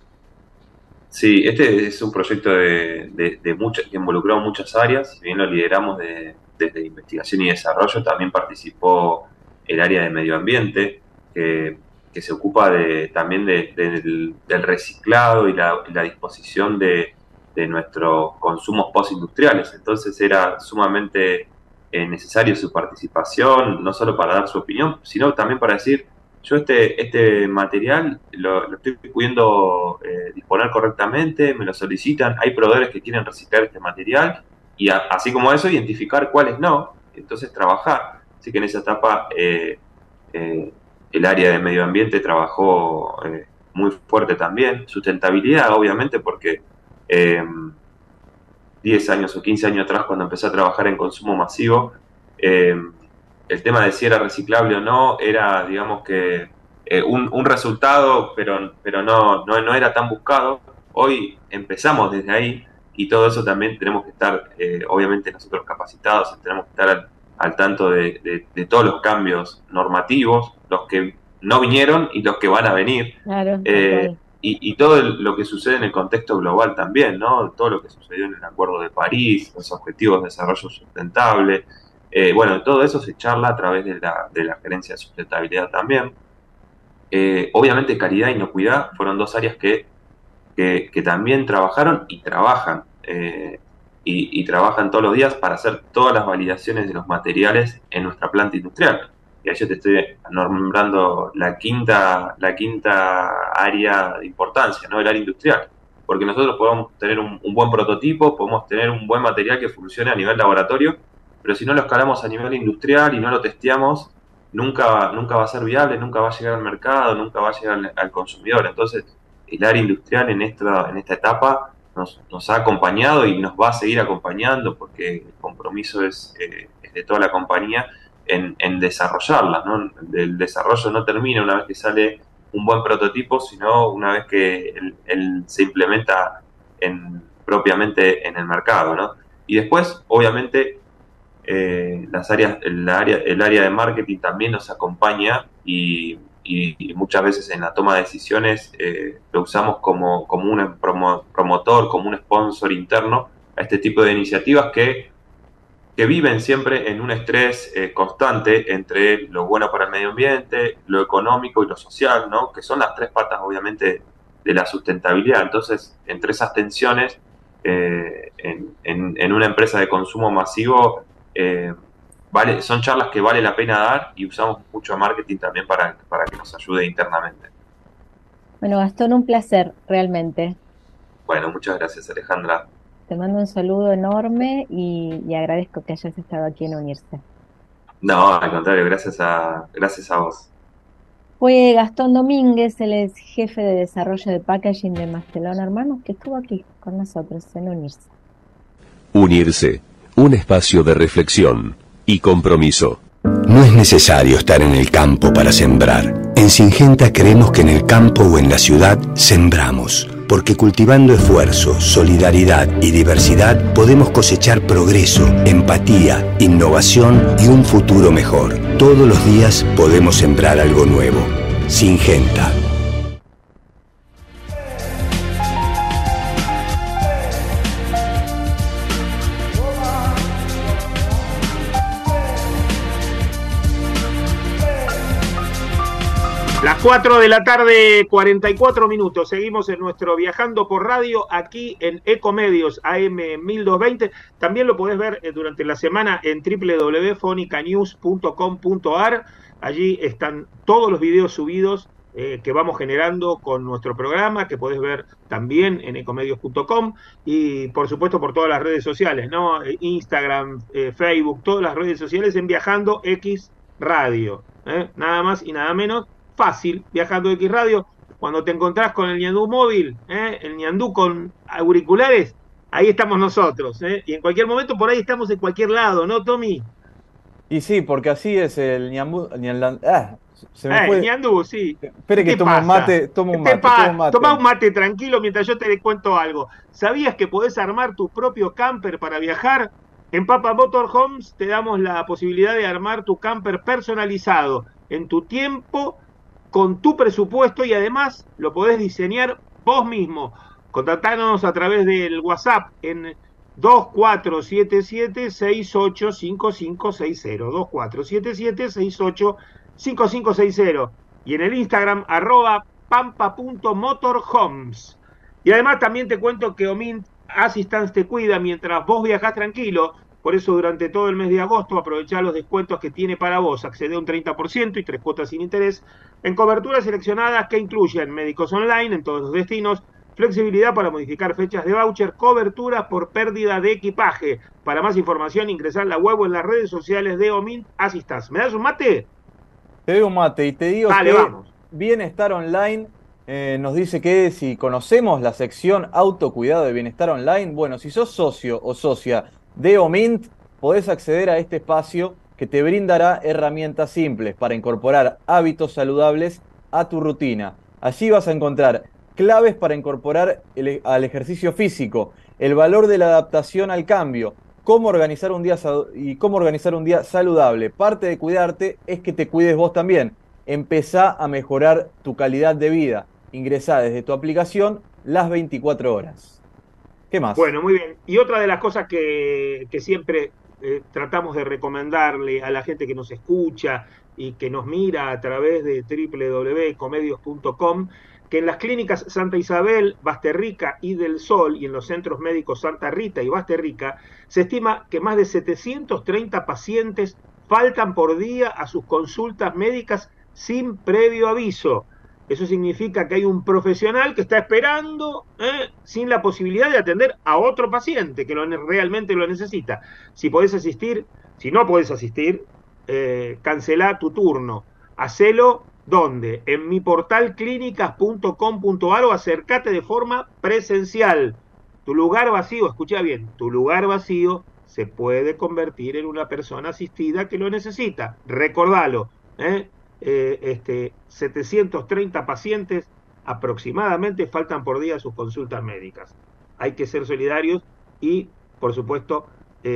Sí, este es un proyecto que involucró muchas áreas, si bien lo lideramos desde investigación y desarrollo, también participó el área de medio ambiente, que se ocupa también del reciclado y la disposición de nuestros consumos postindustriales. Entonces era sumamente necesario su participación, no solo para dar su opinión, sino también para decir, yo este material lo estoy pudiendo disponer correctamente, me lo solicitan, hay proveedores que quieren reciclar este material, y así como eso, identificar cuáles no, entonces trabajar. Así que en esa etapa el área de medio ambiente trabajó muy fuerte también. Sustentabilidad, obviamente, porque 10 años o 15 años atrás, cuando empecé a trabajar en consumo masivo, el tema de si era reciclable o no era, digamos que, un resultado, pero no era tan buscado. Hoy empezamos desde ahí y todo eso también tenemos que estar, obviamente nosotros capacitados, tenemos que estar al tanto de todos los cambios normativos, los que no vinieron y los que van a venir. Claro, y todo lo que sucede en el contexto global también, ¿no? Todo lo que sucedió en el Acuerdo de París, los Objetivos de Desarrollo Sustentable. Bueno, todo eso se charla a través de la Gerencia de Sustentabilidad también. Obviamente calidad e inocuidad fueron dos áreas que también trabajaron y trabajan. Y trabajan todos los días para hacer todas las validaciones de los materiales en nuestra planta industrial. Y ahí yo te estoy nombrando la quinta área de importancia, ¿no? El área industrial. Porque nosotros podemos tener un buen prototipo, podemos tener un buen material que funcione a nivel laboratorio, pero si no lo escalamos a nivel industrial y no lo testeamos, nunca va a ser viable, nunca va a llegar al mercado, nunca va a llegar al consumidor. Entonces, el área industrial en esta etapa nos ha acompañado y nos va a seguir acompañando, porque el compromiso es de toda la compañía en desarrollarla, ¿no? El desarrollo no termina una vez que sale un buen prototipo, sino una vez que él se implementa propiamente en el mercado, ¿no? Y después, obviamente, el área de marketing también nos acompaña y muchas veces en la toma de decisiones lo usamos como un promotor, como un sponsor interno a este tipo de iniciativas que viven siempre en un estrés constante entre lo bueno para el medio ambiente, lo económico y lo social, ¿no? Que son las tres patas, obviamente, de la sustentabilidad. Entonces, entre esas tensiones, en una empresa de consumo masivo, son charlas que vale la pena dar y usamos mucho marketing también para que nos ayude internamente. Bueno, Gastón, un placer, realmente. Bueno, muchas gracias, Alejandra. Te mando un saludo enorme y agradezco que hayas estado aquí en Unirse. No, al contrario, gracias a vos. Fue Gastón Domínguez, el ex jefe de desarrollo de packaging de Mastelón Hermanos, que estuvo aquí con nosotros en Unirse. Unirse, un espacio de reflexión y compromiso. No es necesario estar en el campo para sembrar. En Syngenta creemos que en el campo o en la ciudad sembramos, porque cultivando esfuerzo, solidaridad y diversidad podemos cosechar progreso, empatía, innovación y un futuro mejor. Todos los días podemos sembrar algo nuevo. Syngenta. Las 4 de la tarde, 44 minutos. Seguimos en nuestro Viajando por Radio aquí en Ecomedios AM 1220. También lo podés ver durante la semana en www.fonicanews.com.ar. Allí están todos los videos subidos que vamos generando con nuestro programa, que podés ver también en ecomedios.com y por supuesto por todas las redes sociales, ¿no? Instagram, Facebook, todas las redes sociales en Viajando X Radio. Nada más y nada menos. Fácil, Viajando X Radio. Cuando te encontrás con el ñandú móvil, el ñandú con auriculares, ahí estamos nosotros. Y en cualquier momento por ahí estamos en cualquier lado, ¿no, Tommy? Y sí, porque así es el ñandú. Se me fue. El ñandú, sí. Espere que tomo un mate. Toma un mate tranquilo mientras yo te cuento algo. ¿Sabías que podés armar tu propio camper para viajar? En Papa Motorhomes te damos la posibilidad de armar tu camper personalizado en tu tiempo, con tu presupuesto y además lo podés diseñar vos mismo. Contactanos a través del WhatsApp en 2477-685560, 2477-685560 y en el Instagram @pampa.motorhomes. Y además también te cuento que Omint Assistance te cuida mientras vos viajás tranquilo. Por eso durante todo el mes de agosto aprovechá los descuentos que tiene para vos. Accede a un 30% y 3 cuotas sin interés en coberturas seleccionadas que incluyen médicos online en todos los destinos, flexibilidad para modificar fechas de voucher, coberturas por pérdida de equipaje. Para más información ingresá en la web o en las redes sociales de Omint Assistance. ¿Me das un mate? Te doy un mate y te digo Dale, que vamos. Bienestar Online nos dice que si conocemos la sección autocuidado de Bienestar Online, bueno, si sos socio o socia de Omint, podés acceder a este espacio que te brindará herramientas simples para incorporar hábitos saludables a tu rutina. Allí vas a encontrar claves para incorporar al ejercicio físico, el valor de la adaptación al cambio, cómo organizar un día saludable. Parte de cuidarte es que te cuides vos también. Empezá a mejorar tu calidad de vida. Ingresá desde tu aplicación las 24 horas. ¿Qué más? Bueno, muy bien. Y otra de las cosas que siempre tratamos de recomendarle a la gente que nos escucha y que nos mira a través de www.ecomedios.com, que en las clínicas Santa Isabel, Basterrica y del Sol y en los centros médicos Santa Rita y Basterrica, se estima que más de 730 pacientes faltan por día a sus consultas médicas sin previo aviso. Eso significa que hay un profesional que está esperando sin la posibilidad de atender a otro paciente que realmente lo necesita. Si podés asistir, si no podés asistir, cancelá tu turno. Hacelo, ¿dónde? En mi portal clínicas.com.ar o acercate de forma presencial. Tu lugar vacío, escucha bien, tu lugar vacío se puede convertir en una persona asistida que lo necesita. Recordalo, 730 pacientes aproximadamente faltan por día a sus consultas médicas. hay que ser solidarios y, por supuesto,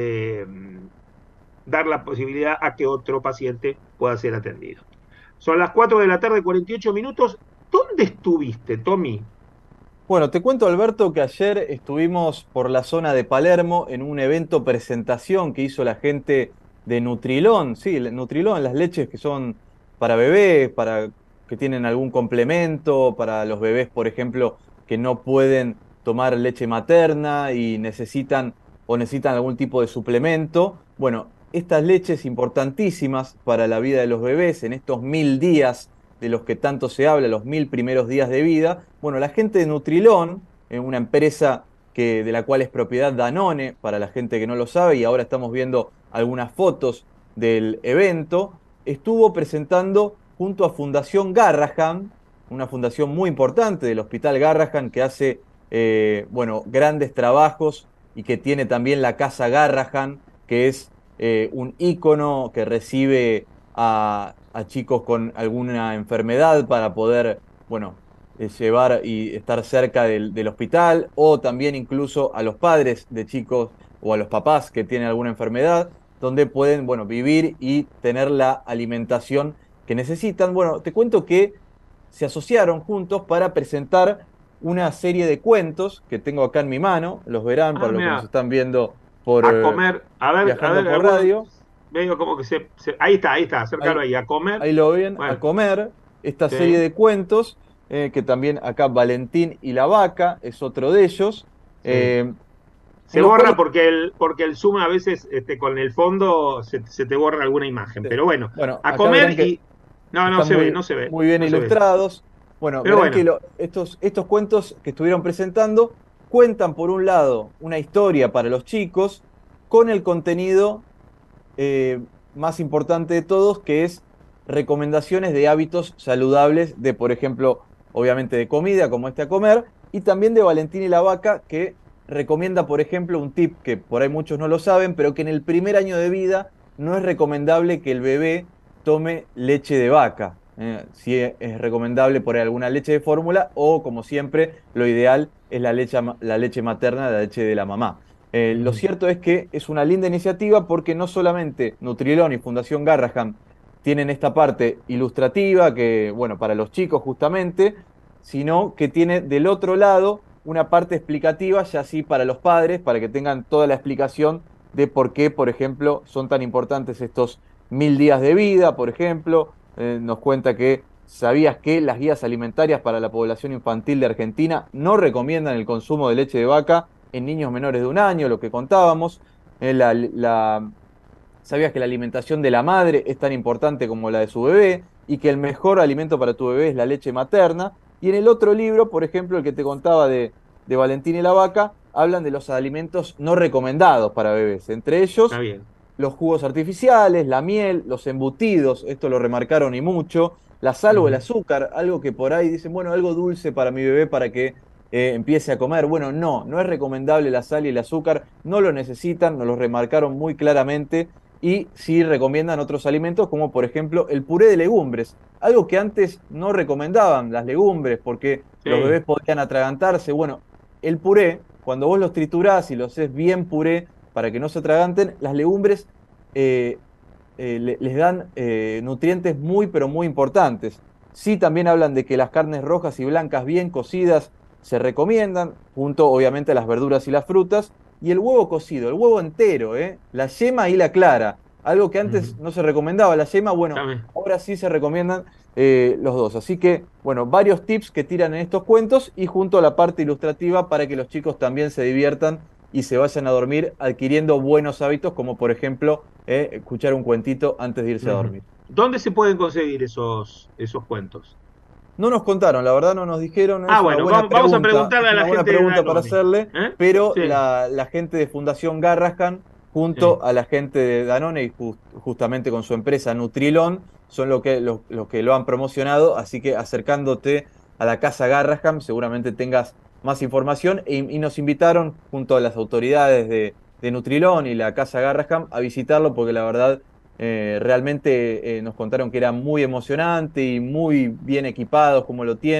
dar la posibilidad a que otro paciente pueda ser atendido. Son las 4 de la tarde, 48 minutos. ¿Dónde estuviste, Tommy? Bueno, te cuento, Alberto, que ayer estuvimos por la zona de Palermo en un evento presentación que hizo la gente de Nutrilón. Sí, Nutrilón, las leches que son para bebés, para que tienen algún complemento, para los bebés, por ejemplo, que no pueden tomar leche materna y necesitan algún tipo de suplemento. Bueno, estas leches importantísimas para la vida de los bebés en estos 1000 días de los que tanto se habla, los 1000 primeros días de vida. Bueno, la gente de Nutrilón, una empresa de la cual es propiedad Danone, para la gente que no lo sabe, y ahora estamos viendo algunas fotos del evento, estuvo presentando junto a Fundación Garrahan, una fundación muy importante del Hospital Garrahan que hace grandes trabajos y que tiene también la Casa Garrahan, que es un ícono que recibe a chicos con alguna enfermedad para poder, llevar y estar cerca del hospital, o también incluso a los padres de chicos o a los papás que tienen alguna enfermedad, donde pueden, vivir y tener la alimentación que necesitan. Bueno, te cuento que se asociaron juntos para presentar una serie de cuentos que tengo acá en mi mano, los verán para los que nos están viendo por comer, Viajando por Radio. Medio como que ahí está, acércalo ahí, a comer. Ahí lo ven, a comer, esta serie de cuentos, que también acá Valentín y la Vaca es otro de ellos. Se borra porque el zoom a veces con el fondo se te borra alguna imagen, pero bueno, a comer y... No se ve. Muy bien ilustrados. Bueno, verán que estos cuentos que estuvieron presentando cuentan, por un lado, una historia para los chicos con el contenido más importante de todos, que es recomendaciones de hábitos saludables de, por ejemplo, obviamente de comida, como a comer, y también de Valentín y la Vaca, que recomienda, por ejemplo, un tip que por ahí muchos no lo saben, pero que en el primer año de vida no es recomendable que el bebé tome leche de vaca. Sí es recomendable por ahí alguna leche de fórmula, o, como siempre, lo ideal es la leche materna, la leche de la mamá. Lo cierto es que es una linda iniciativa porque no solamente Nutrilón y Fundación Garrahan tienen esta parte ilustrativa, que, para los chicos justamente, sino que tiene del otro lado una parte explicativa, ya sí para los padres, para que tengan toda la explicación de por qué, por ejemplo, son tan importantes estos 1000 días de vida, por ejemplo. Nos cuenta que ¿sabías que las guías alimentarias para la población infantil de Argentina no recomiendan el consumo de leche de vaca en niños menores de 1 año? Lo que contábamos. ¿Sabías que la alimentación de la madre es tan importante como la de su bebé? Y que el mejor alimento para tu bebé es la leche materna. Y en el otro libro, por ejemplo, el que te contaba de Valentín y la Vaca, hablan de los alimentos no recomendados para bebés. Entre ellos, los jugos artificiales, la miel, los embutidos, esto lo remarcaron y mucho, la sal o el azúcar, algo que por ahí dicen, algo dulce para mi bebé para que empiece a comer. Bueno, no es recomendable la sal y el azúcar, no lo necesitan, nos lo remarcaron muy claramente, y sí recomiendan otros alimentos como por ejemplo el puré de legumbres, algo que antes no recomendaban las legumbres porque los bebés podían atragantarse. Bueno, el puré, cuando vos los triturás y los haces bien puré para que no se atraganten, las legumbres les dan nutrientes muy pero muy importantes. Sí, también hablan de que las carnes rojas y blancas bien cocidas se recomiendan, junto obviamente a las verduras y las frutas, y el huevo cocido, el huevo entero, la yema y la clara, algo que antes no se recomendaba. La yema, ahora sí se recomiendan los dos. Así que, varios tips que tiran en estos cuentos, y junto a la parte ilustrativa para que los chicos también se diviertan y se vayan a dormir adquiriendo buenos hábitos, como por ejemplo escuchar un cuentito antes de irse a dormir. ¿Dónde se pueden conseguir esos cuentos? No nos contaron, la verdad no nos dijeron. Vamos a preguntarle a la gente. Una pregunta para hacerle, pero la gente de Fundación Garrahan, junto a la gente de Danone y justamente con su empresa Nutrilón, son los que lo han promocionado. Así que acercándote a la Casa Garrahan, seguramente tengas más información. Y nos invitaron, junto a las autoridades de Nutrilón y la Casa Garrahan, a visitarlo, porque la verdad realmente nos contaron que era muy emocionante y muy bien equipados como lo tienen.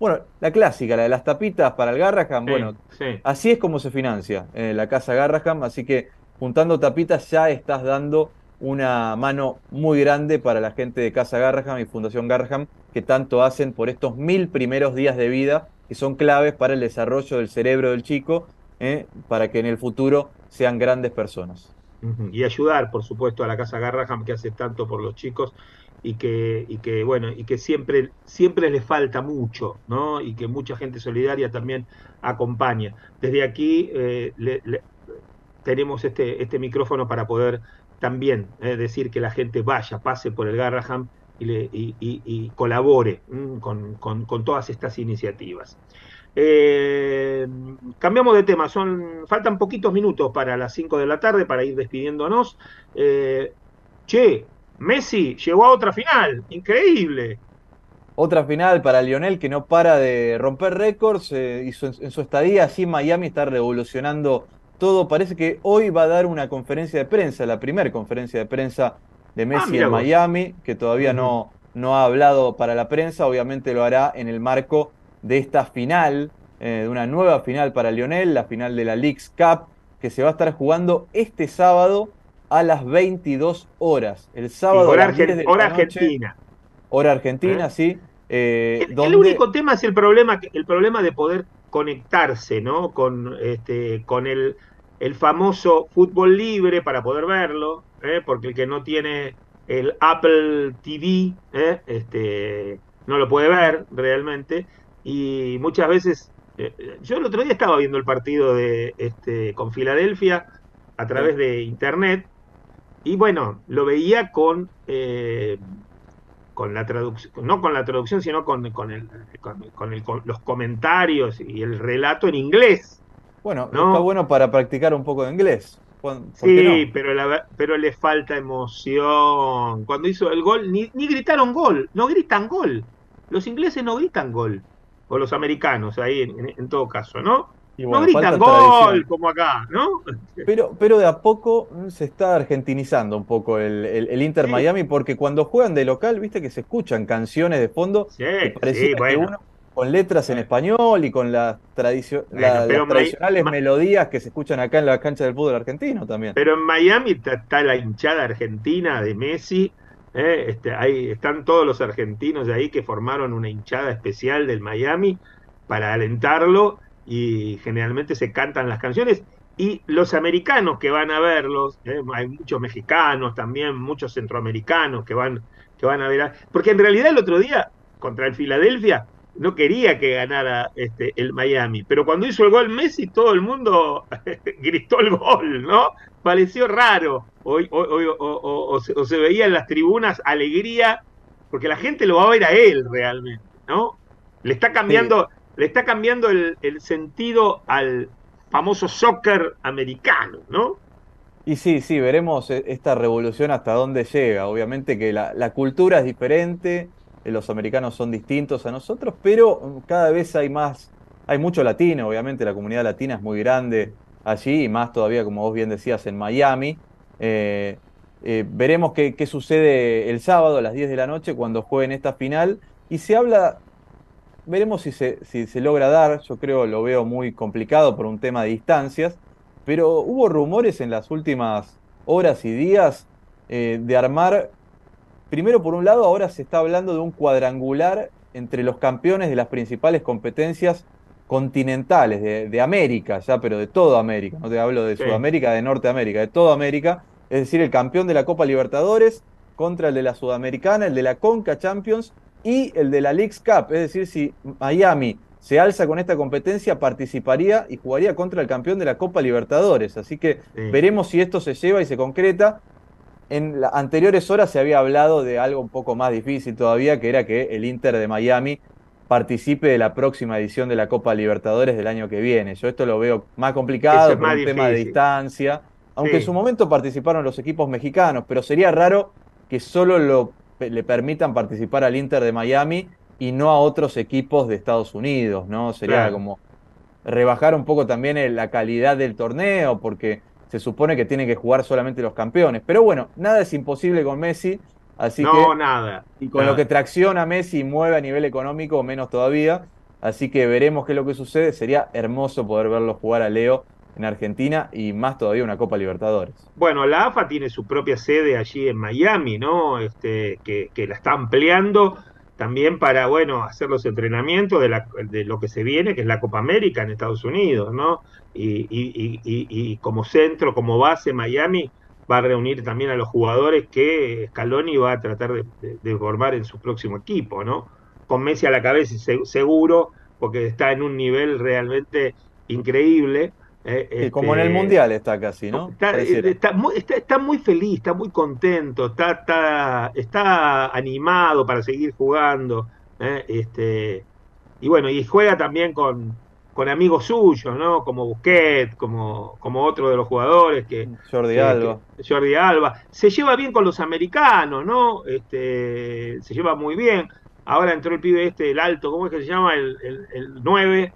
Bueno, la clásica, la de las tapitas para el Garraham, Sí, bueno, sí. así es como se financia la Casa Garraham, así que juntando tapitas ya estás dando una mano muy grande para la gente de Casa Garraham y Fundación Garraham, que tanto hacen por estos 1000 primeros días de vida, que son claves para el desarrollo del cerebro del chico, para que en el futuro sean grandes personas. Ujú. Y ayudar, por supuesto, a la Casa Garraham, que hace tanto por los chicos bueno, y que siempre les falta mucho, ¿no? Y que mucha gente solidaria también acompaña. Desde aquí tenemos este micrófono para poder también decir que la gente vaya, pase por el Garraham y colabore con todas estas iniciativas. Eh, Cambiamos de tema, faltan poquitos minutos para las 5 de la tarde para ir despidiéndonos. Che, Messi llegó a otra final, increíble. Otra final para Lionel que no para de romper récords, en su estadía allí en Miami está revolucionando todo. Parece que hoy va a dar una conferencia de prensa, la primera conferencia de prensa de Messi Mira en vos. Miami, que todavía no ha hablado para la prensa, obviamente lo hará en el marco de esta final, de una nueva final para Lionel, la final de la Leagues Cup, que se va a estar jugando este sábado a las 22 horas. El sábado Y a las 10 de hora la noche, argentina. hora argentina, sí. El único tema es el problema de poder conectarse, ¿no? Con el famoso fútbol libre para poder verlo, porque el que no tiene el Apple TV, no lo puede ver realmente. Y muchas veces, yo el otro día estaba viendo el partido con Filadelfia a través de internet, y bueno, lo veía con la traducción, no con la traducción, sino con los comentarios y el relato en inglés. Bueno, ¿no? está bueno para practicar un poco de inglés. ¿Por Sí, qué no? pero le falta emoción. Cuando hizo el gol, ni gritaron gol, no gritan gol. Los ingleses no gritan gol, o los americanos, ahí en todo caso, ¿no? Y bueno, no gritan falta gol tradición. como acá, ¿no? Pero de a poco se está argentinizando un poco el Inter Sí. Miami, porque cuando juegan de local, viste que se escuchan canciones de fondo Sí, y pareciera que bueno. uno con letras en español y con las Bueno, pero las tradicionales melodías que se escuchan acá en la cancha del fútbol argentino también. Pero en Miami está la hinchada argentina de Messi. Ahí están todos los argentinos de ahí que formaron una hinchada especial del Miami para alentarlo, y generalmente se cantan las canciones. Y los americanos que van a verlos, hay muchos mexicanos también, muchos centroamericanos que van a ver. Porque en realidad el otro día, contra el Filadelfia, no quería que ganara el Miami, pero cuando hizo el gol Messi, todo el mundo gritó el gol, ¿no? Pareció raro, o se veía en las tribunas alegría, porque la gente lo va a ver a él realmente, ¿no? Le está cambiando el sentido al famoso soccer americano, ¿no? Y sí, veremos esta revolución hasta dónde llega. Obviamente que la cultura es diferente, los americanos son distintos a nosotros, pero cada vez hay mucho latino, obviamente la comunidad latina es muy grande allí, y más todavía, como vos bien decías, en Miami. Veremos qué sucede el sábado a las 10 de la noche cuando jueguen esta final, y veremos si se logra dar. Yo lo veo muy complicado por un tema de distancias, pero hubo rumores en las últimas horas y días de armar, primero por un lado, ahora se está hablando de un cuadrangular entre los campeones de las principales competencias continentales de América, ya, pero de toda América, no te hablo de Sí. Sudamérica, de Norteamérica, de toda América, es decir, el campeón de la Copa Libertadores contra el de la Sudamericana, el de la Conca Champions y el de la Leagues Cup. Es decir, si Miami se alza con esta competencia, participaría y jugaría contra el campeón de la Copa Libertadores. Así que veremos si esto se lleva y se concreta. En las anteriores horas se había hablado de algo un poco más difícil todavía, que era que el Inter de Miami participe de la próxima edición de la Copa Libertadores del año que viene. Yo esto lo veo más complicado, Eso es por más un tema de difícil. distancia, aunque Sí. en su momento participaron los equipos mexicanos, pero sería raro que solo le permitan participar al Inter de Miami y no a otros equipos de Estados Unidos, ¿no? Sería Claro. como rebajar un poco también la calidad del torneo, porque se supone que tienen que jugar solamente los campeones. Pero bueno, nada es imposible con Messi, así No, que, nada. y con nada. lo que tracciona Messi y mueve a nivel económico, menos todavía. Así que veremos qué es lo que sucede. Sería hermoso poder verlo jugar a Leo en Argentina y más todavía una Copa Libertadores. Bueno, la AFA tiene su propia sede allí en Miami, ¿no? Que la está ampliando también para, bueno, hacer los entrenamientos de lo que se viene, que es la Copa América en Estados Unidos, ¿no? Y como centro, como base, Miami va a reunir también a los jugadores que Scaloni va a tratar de formar en su próximo equipo, ¿no? Con Messi a la cabeza, seguro, porque está en un nivel realmente increíble. Como en el Mundial está casi, ¿no? Está muy feliz, está muy contento, está animado para seguir jugando. Y bueno, y juega también con amigos suyos, ¿no? Como Busquets, como otro de los jugadores Jordi Alba. Jordi Alba. Se lleva bien con los americanos, ¿no? Se lleva muy bien. Ahora entró el pibe el alto, ¿cómo es que se llama? El 9.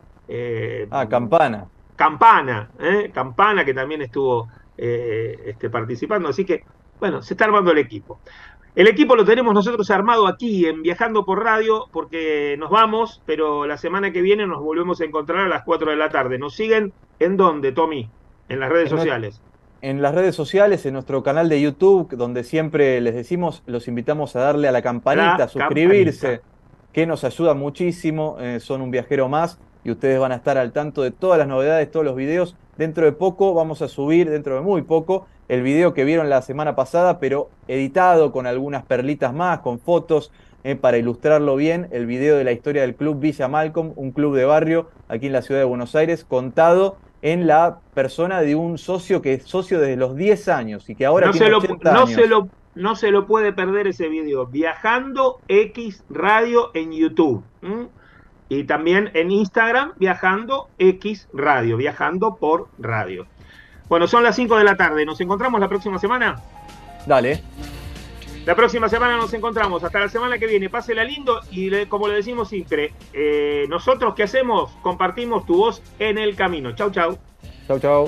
Campana. Campana, que también estuvo participando. Así que, bueno, se está armando el equipo. El equipo lo tenemos nosotros armado aquí en Viajando por Radio, porque nos vamos, pero la semana que viene nos volvemos a encontrar a las 4 de la tarde. ¿Nos siguen en dónde, Tommy? En las redes sociales. En las redes sociales, en nuestro canal de YouTube, donde siempre les decimos, los invitamos a darle a la campanita, a suscribirse, que nos ayuda muchísimo. Son un viajero más y ustedes van a estar al tanto de todas las novedades, todos los videos. Dentro de poco vamos a subir, dentro de muy poco, el video que vieron la semana pasada, pero editado con algunas perlitas más, con fotos, para ilustrarlo bien, el video de la historia del club Villa Malcolm, un club de barrio aquí en la ciudad de Buenos Aires, contado en la persona de un socio que es socio desde los 10 años y que ahora tiene 80 años. No se lo puede perder ese video. Viajando X Radio en YouTube. Y también en Instagram, Viajando X Radio, Viajando por Radio. Bueno, son las 5 de la tarde. ¿Nos encontramos la próxima semana? Dale. La próxima semana nos encontramos. Hasta la semana que viene. Pásela lindo y como le decimos siempre, nosotros ¿qué hacemos? Compartimos tu voz en el camino. Chau, chau. Chau, chau.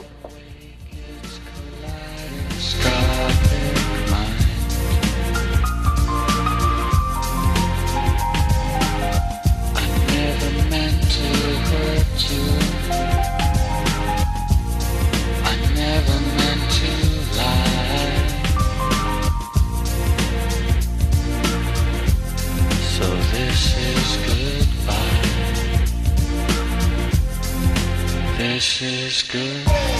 This is good.